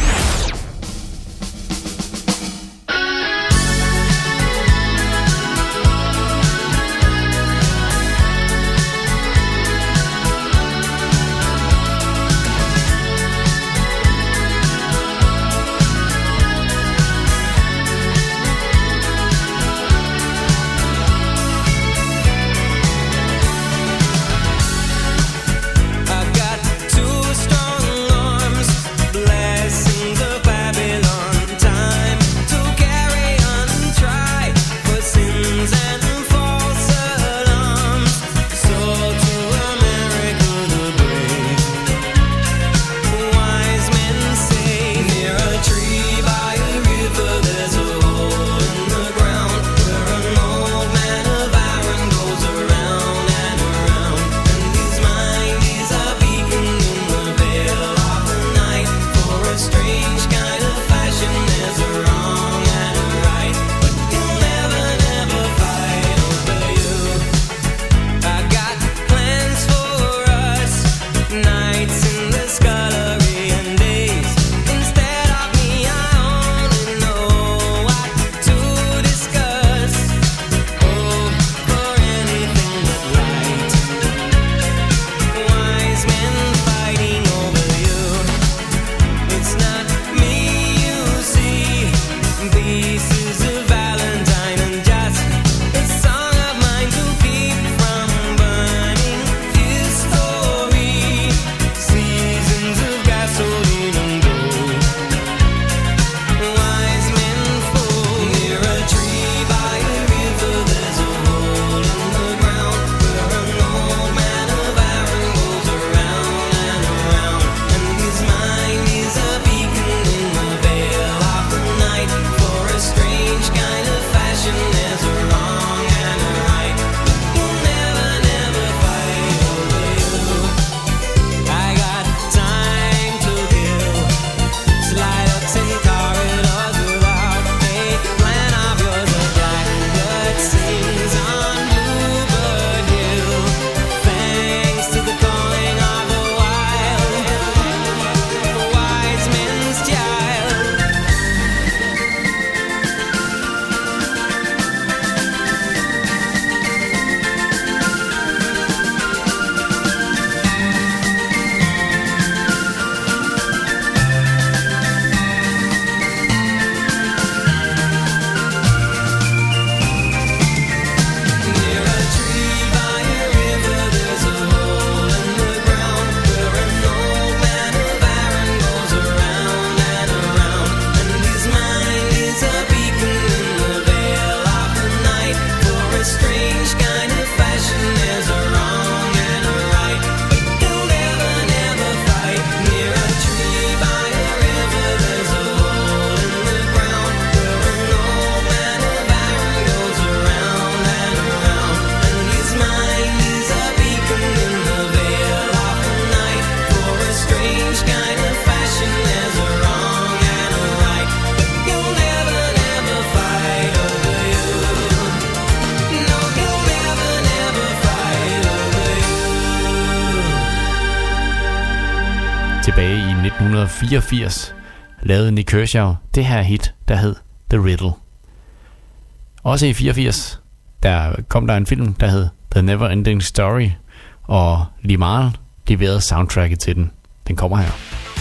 I've got two strong arms blessing the tilbage i 1984 lavede Nick Kershaw det her hit, der hed The Riddle. Også i 84, der kom der en film, der hed The Never Ending Story, og Limahl leverede soundtracket til den. Den kommer her.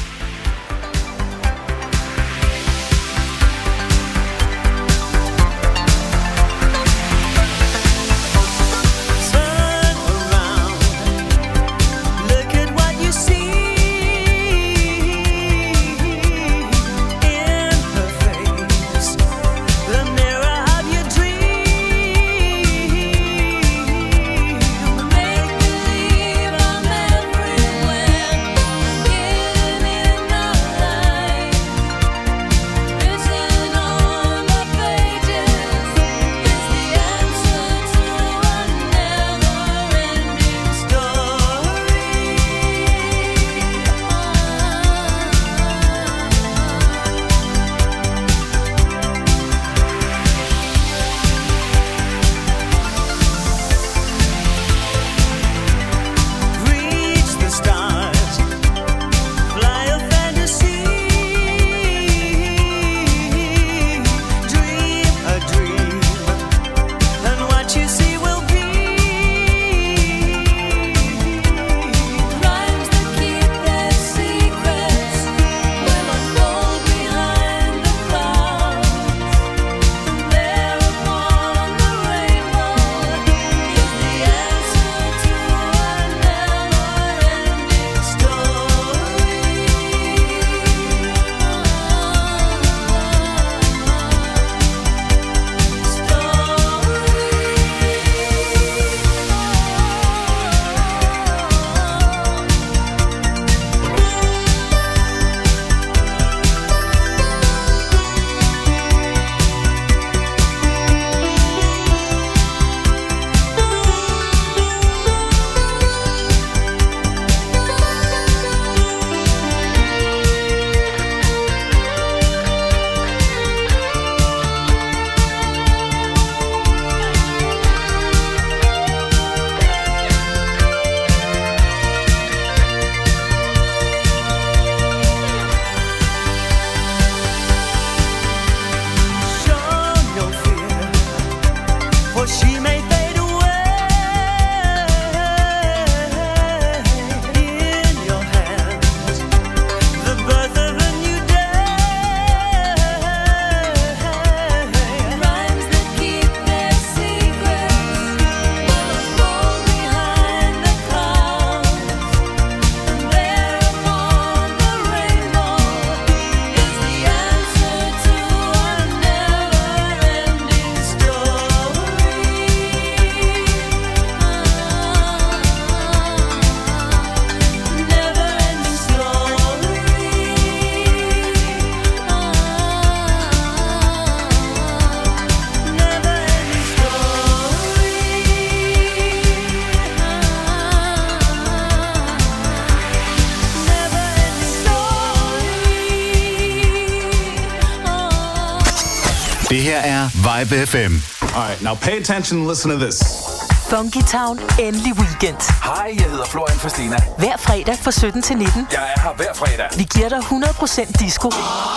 Det her er Vibe FM. Alright, now pay attention and listen to this. Funky Town, endelig weekend. Hej, jeg hedder Florian Fastina. Hver fredag fra 17 til 19. Jeg er her hver fredag. Vi giver dig 100% disco.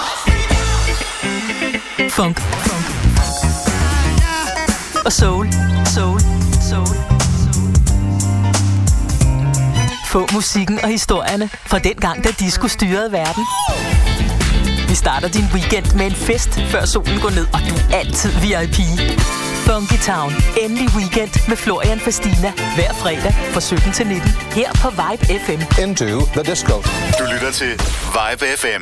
Funk. Og soul. Få musikken og historierne fra den gang, da disco styrede verden. Vi starter din weekend med en fest, før solen går ned, og du er altid VIP. Funky Town, endelig weekend med Florian Fastina. Hver fredag fra 17 til 19. Her på Vibe FM. Into the disco. Du lytter til Vibe FM.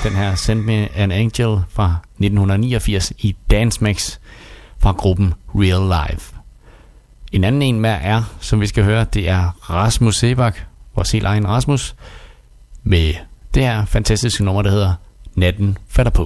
Den her Send Me An Angel fra 1989 i Dance Mix fra gruppen Real Life. En anden en mere er, som vi skal høre, det er Rasmus Sebak, vores helt egen Rasmus, med det her fantastiske nummer, der hedder Natten falder på.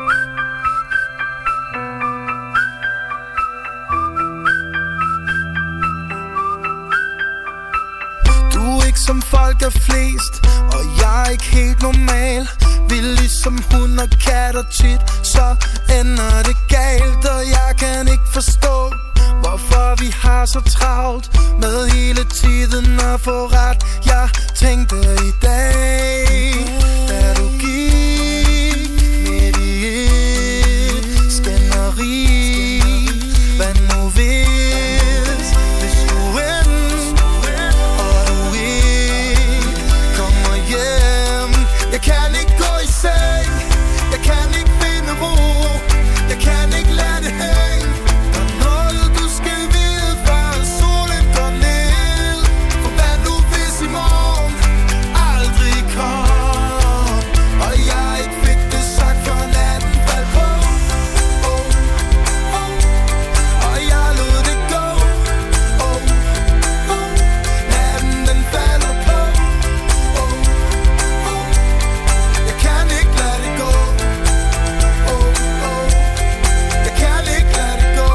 Som folk er flest, og jeg er ikke helt normal. Vi er ligesom hund og kat, og tit så ender det galt. Og jeg kan ikke forstå, hvorfor vi har så travlt med hele tiden at få ret. Jeg tænkte i dag, da du gik midt i et skænderi. Hvad nu hvis det skulle ende, og du ikke kommer hjem? Jeg kan ikke gå i seng, jeg kan ikke finde ro, jeg kan ikke lade det hænge. Der er noget du skal vide, før solen går ned. For hvad nu hvis i morgen aldrig kom, og jeg ikke fik det sagt, før natten faldt på. Og jeg lod det gå. Natten den falder på. Jeg kan ikke lade det gå. Jeg kan ikke lade det gå.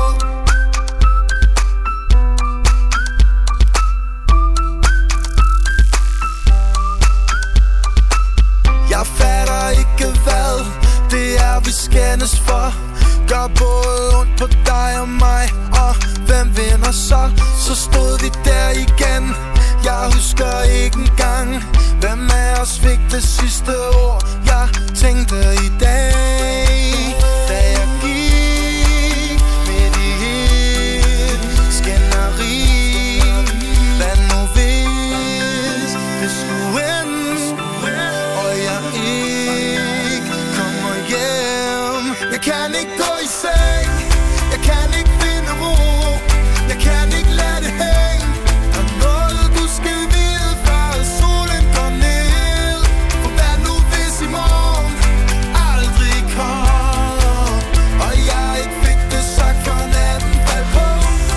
Jeg fatter ikke hvad det er vi skændes for. Gør både ondt på dig og mig, og hvem vinder så? Så stod vi der igen. Jeg husker ikke engang, hvem af os fik det sidste ord. Jeg tænkte i dag, da jeg gik midt i et skænderi. Hvad nu hvis det skulle ende, og jeg ikke kommer hjem? Jeg kan ikke gå i seng, jeg kan ikke finde ro, jeg kan ikke lade det hænge. Der er noget du skal vide, før solen går ned. For hvad nu hvis i morgen aldrig kom, og jeg ikke fik det sagt, før natten faldt på.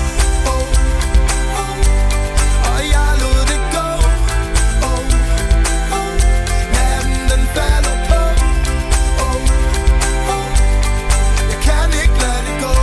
Og jeg lod det gå. Natten den falder på. Jeg kan ikke lade det gå.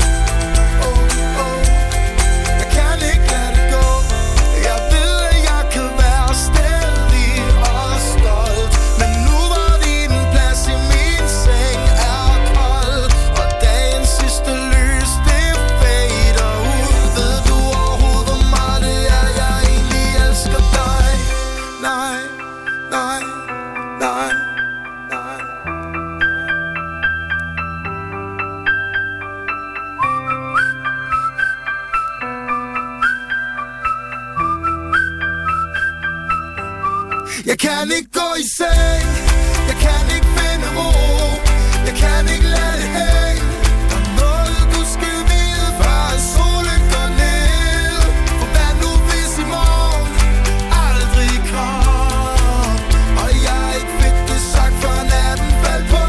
Jeg kan ikke lade det gå. Jeg ved at jeg kan være stædig og stolt, men nu hvor din plads i min seng er kold, og dagens sidste lys det fader ud. Ved du overhovedet hvor meget det er jeg egentlig elsker dig? Nej, nej, nej, nej. Jeg kan ikke gå i seng, jeg kan ikke finde ro, jeg kan ikke lade det hænge. Der er noget du skal vide, før solen går ned. For hvad nu hvis i morgen aldrig kom, og jeg ikke fik det sagt, før natten faldt på.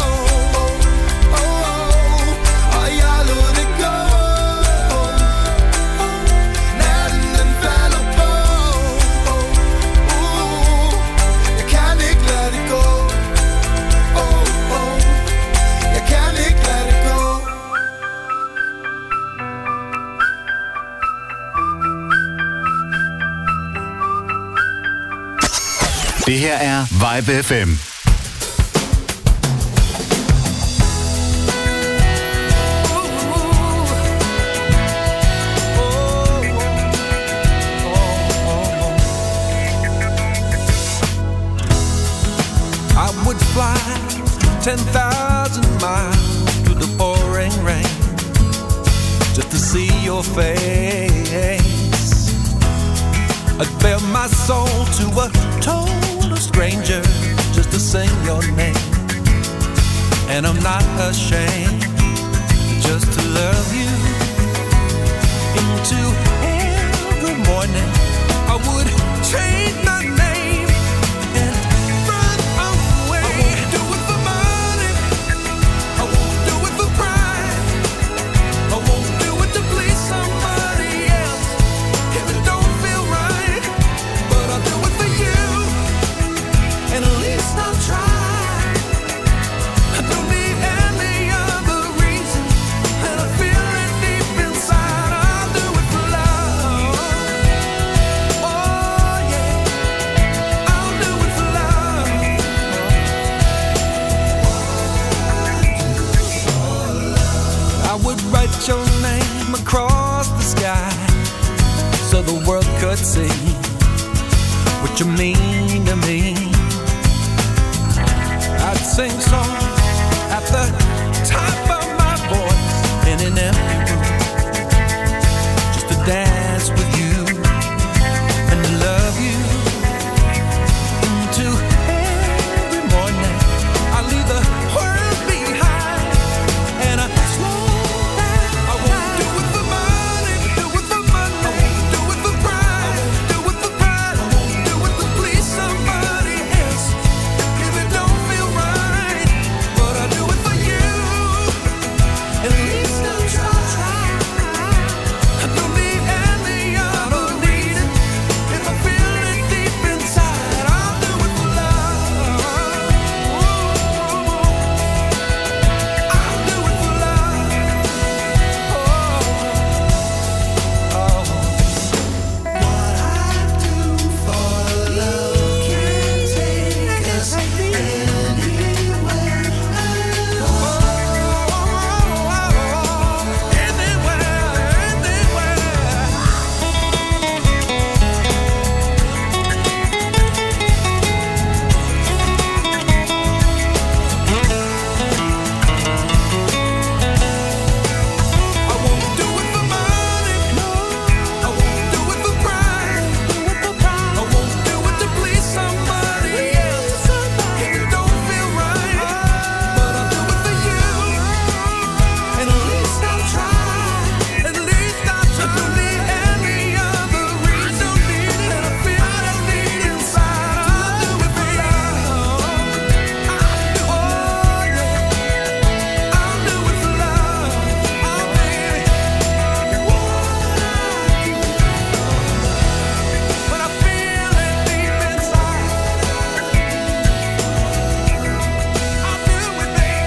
Og jeg lod det gå. Natten den falder på. Jeg kan ikke lade det gå. Jeg kan ikke lade det gå. Det her er Vibe FM. I would fly 10,000 miles through the pouring rain just to see your face. I'd bare my soul to a total stranger just to sing your name. And I'm not ashamed just to love you. Into every morning I would change my name and run away. I won't do it and at least I'll try. I don't need any other reason, and I feel it deep inside. I'll do it for love. Oh yeah, I'll do it for love. I would write your name across the sky so the world could see what you mean to me. I'd sing songs at the top of my voice in an empty room, just to dance with you and love you into every morning. I leave the world behind and I slow down. I won't do it for money, do it for money. I won't do it for pride, do it for pride. I won't do it to please somebody else if it don't feel right. But I do it for you, at least I'll try. I don't need any other reason. If I feel it deep inside, I'll do it for love. I'll do it for love. What I do for love can take us anywhere. I won't do it for money, no. I won't do it for pride, I won't do it to please somebody else if it don't feel right. But I'll do it for you, and at least I'll try. At least I'll try. I don't need any other reason, and I feel it deep inside. I'll do it for love. Oh yeah, I'll do it for love. Oh baby, when I feel it deep inside, I'll do it,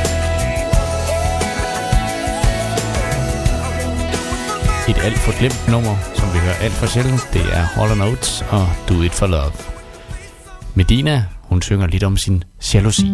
baby. Et alt for glemt nummer, som vi hører alt for sjældent, det er Hall & Oates og Do It For Love. Medina, hun synger lidt om sin jalousi.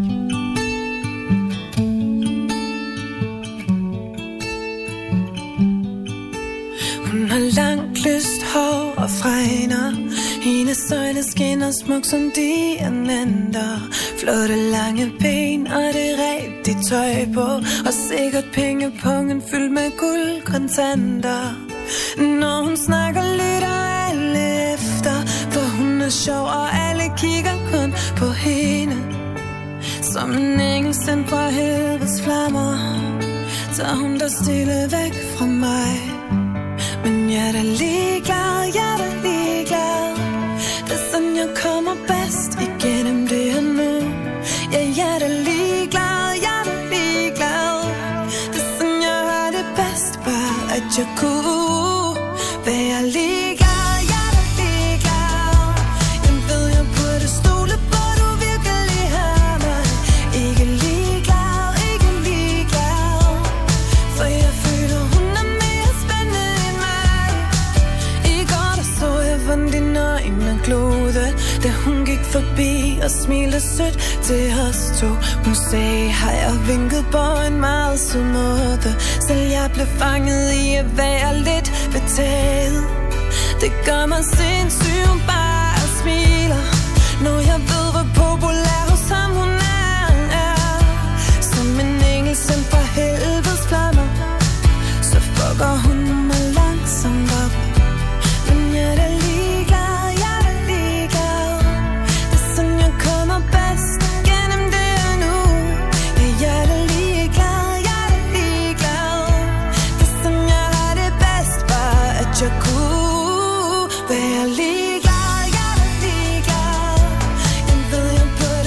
Hun har langt lyst hår og fregner. Hendes øjne skinner smuk som diamanter. Flotte lange ben og det rigtige tøj på. Og sikkert pengepungen fyldt med guldkontanter. Når hun snakker lytter alle efter, for hun er sjov og alle kigger kun på hende. Som en engel sendt fra helvedes flammer, tager hun der stille væk fra mig. Men jeg er da ligeglad, jeg er da ligeglad. Det er sådan jeg kommer bedst igennem det her nu. Ja, jeg er da ligeglad, jeg er da ligeglad. Det er sådan jeg har det bedst, bare at jeg kunne være ligeglad. Jeg er da ligeglad. Jeg ved jeg burde stole på, du virkelig har mig. Ikke ligeglad, ikke ligeglad. For jeg føler hun er mere spændende end mig. I går der så jeg hvordan dine øjne glode, da hun gik forbi og smilte sødt til os to. Hun sagde hej og vinkede på en meget sød måde. Selv jeg blev fanget i at være lidt betaget. Det gør mig sindssyg, hun bare smiler, når jeg ved hvor populær hos ham hun er. Som en engel sendt fra helvedes flammer, så fucker hun mig langsomt op. Men jeg er da ligeglad, jeg er da ligeglad. Det er sådan jeg kommer bedst gennem det her nu. Ja, jeg er da ligeglad, jeg er da ligeglad. Det er sådan jeg har det bedst, bare at jeg kunne være ligeglad. Jeg er da ligeglad. Jeg ved jeg burde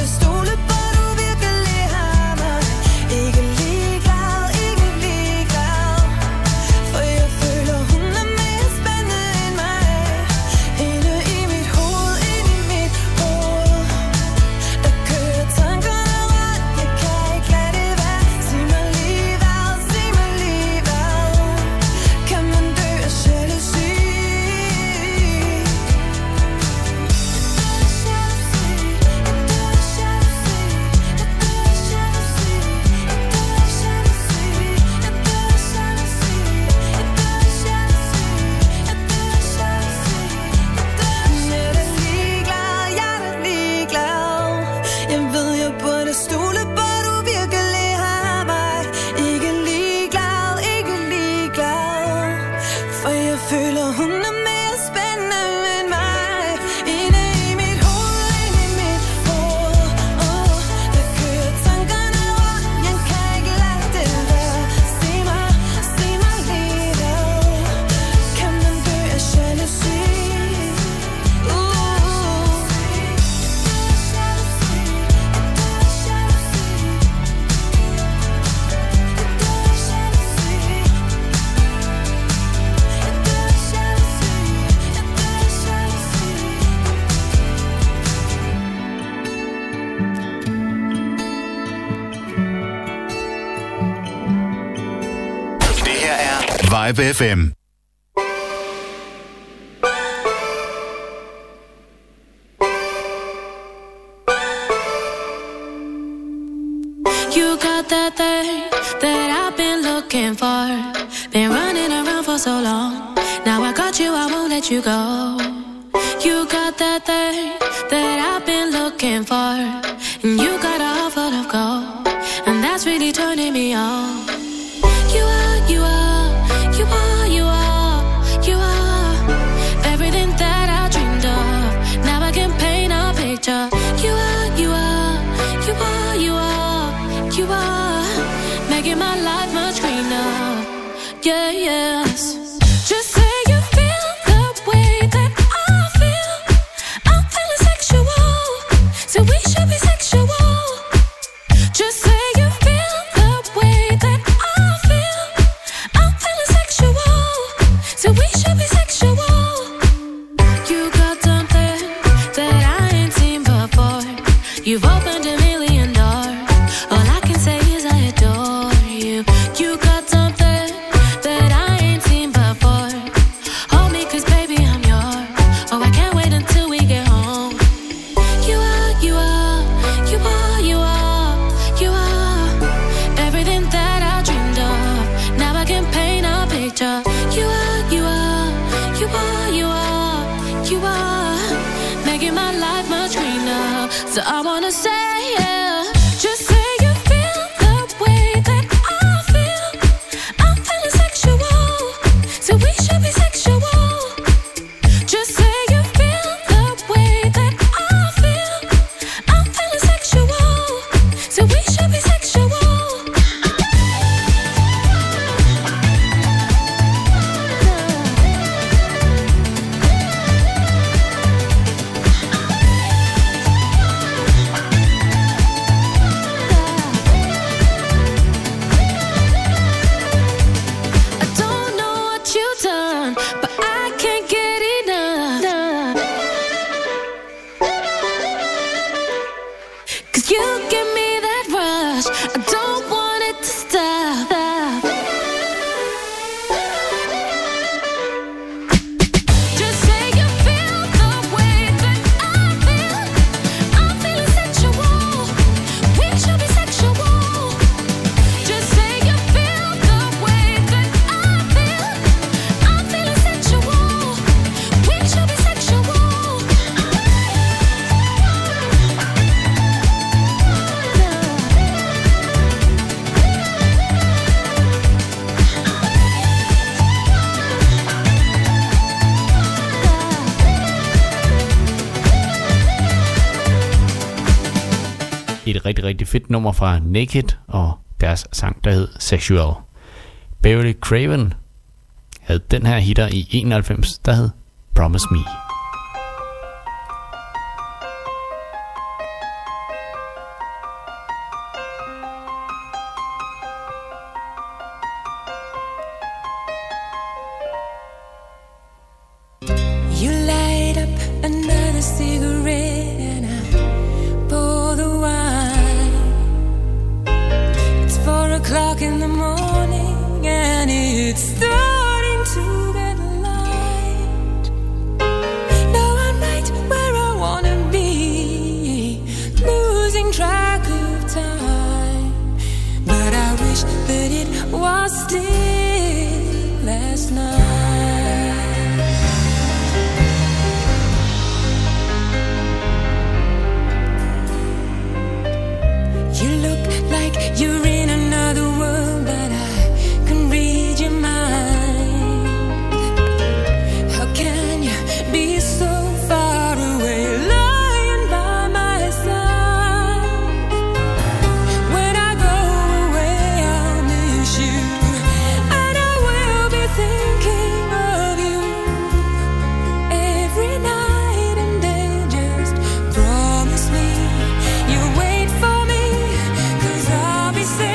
Vibe FM. You got that thing that I've been looking for. Been running around for so long. Now I got you, I won't let you go. You got that thing that I've been looking for. And you got a heart full of gold. And that's really turning me on. You are, you are, you are, you are, you are everything that I dreamed of. Now I can paint a picture. You are, you are, you are, you are, you are making my life much greener. Yeah, yes. Just say you feel the way that I feel. I'm feeling sexual, so we should be sexual. Just say you feel the way that I feel. I'm feeling sexual, so we should be sexual. You got something that I ain't seen before. You've opened a million doors. All I can say is I adore you. You got something that I ain't seen before. Hold me 'cause baby I'm yours. Oh, I can't wait until we get home. You are, you are, you are, you are, you are everything that I dreamed of. Now I can paint a picture. You are, you are, you are, you are, you are making my life much greener. So I wanna say, yeah, just say you feel the way that I feel. I'm feeling sexual, so we should be sexual. Just say you feel the way that I feel. I'm feeling sexual, so we should be sexual. I don't know what you've done, but I can't get enough. 'Cause you give me that rush. I don't want it to stop. Just say you feel the way that I feel. I'm feeling sexual. We should be sexual. Just say you feel the way that I feel. I'm feeling sexual. We should be sexual. Et rigtig, rigtig fedt nummer fra Naked og deres sang, der hed Sexual. Beverly Craven havde den her hitter i 91, der hed Promise Me. You light up another cigarette and I pour the wine. It's 4:00 in the morning and it's starting to get light. Now I'm right where I wanna be, losing track of time. But I wish that it was still last night. You look like you're in another world, but I can read your mind. How can you be so far away, lying by my side? When I go away, I'll miss you, and I will be thinking of you every night and day. Just promise me you'll wait for me, 'cause I'll be safe.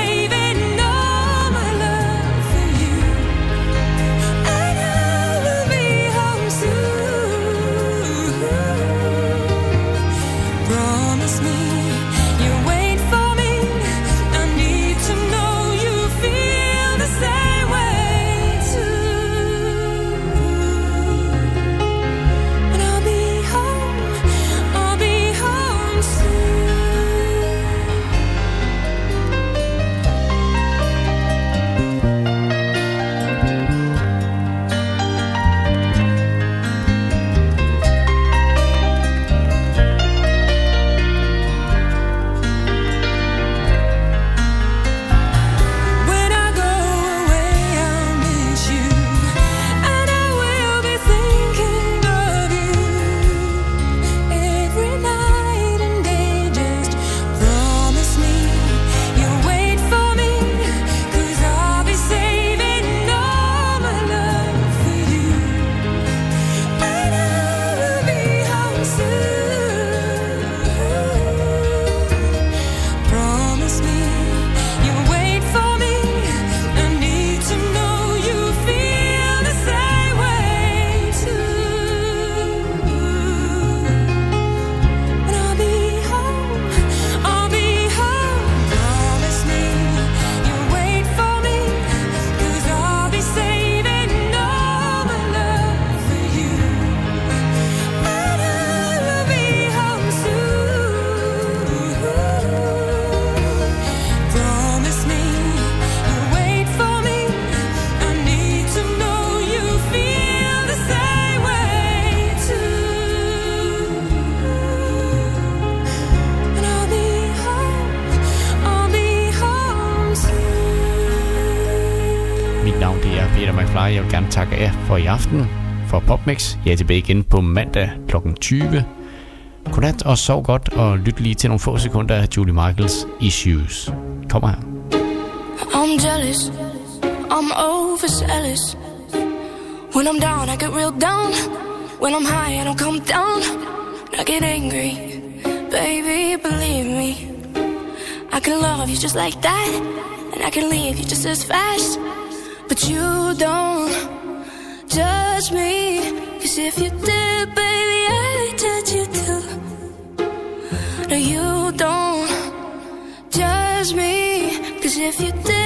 Peter McFly. Jeg vil gerne takke jer for i aften for PopMix. Jeg er tilbage igen på mandag kl. 20. Godnat og sov godt, og lyt lige til nogle få sekunder af Julie Michaels Issues. Kommer her. I'm jealous, I'm overzealous. When I'm down, I get real down. When I'm high, I don't come down. I get angry, baby, believe me. I can love you just like that, and I can leave you just as fast. But you don't judge me, 'cause if you did, baby, I'd judge you too. No, you don't judge me, 'cause if you did,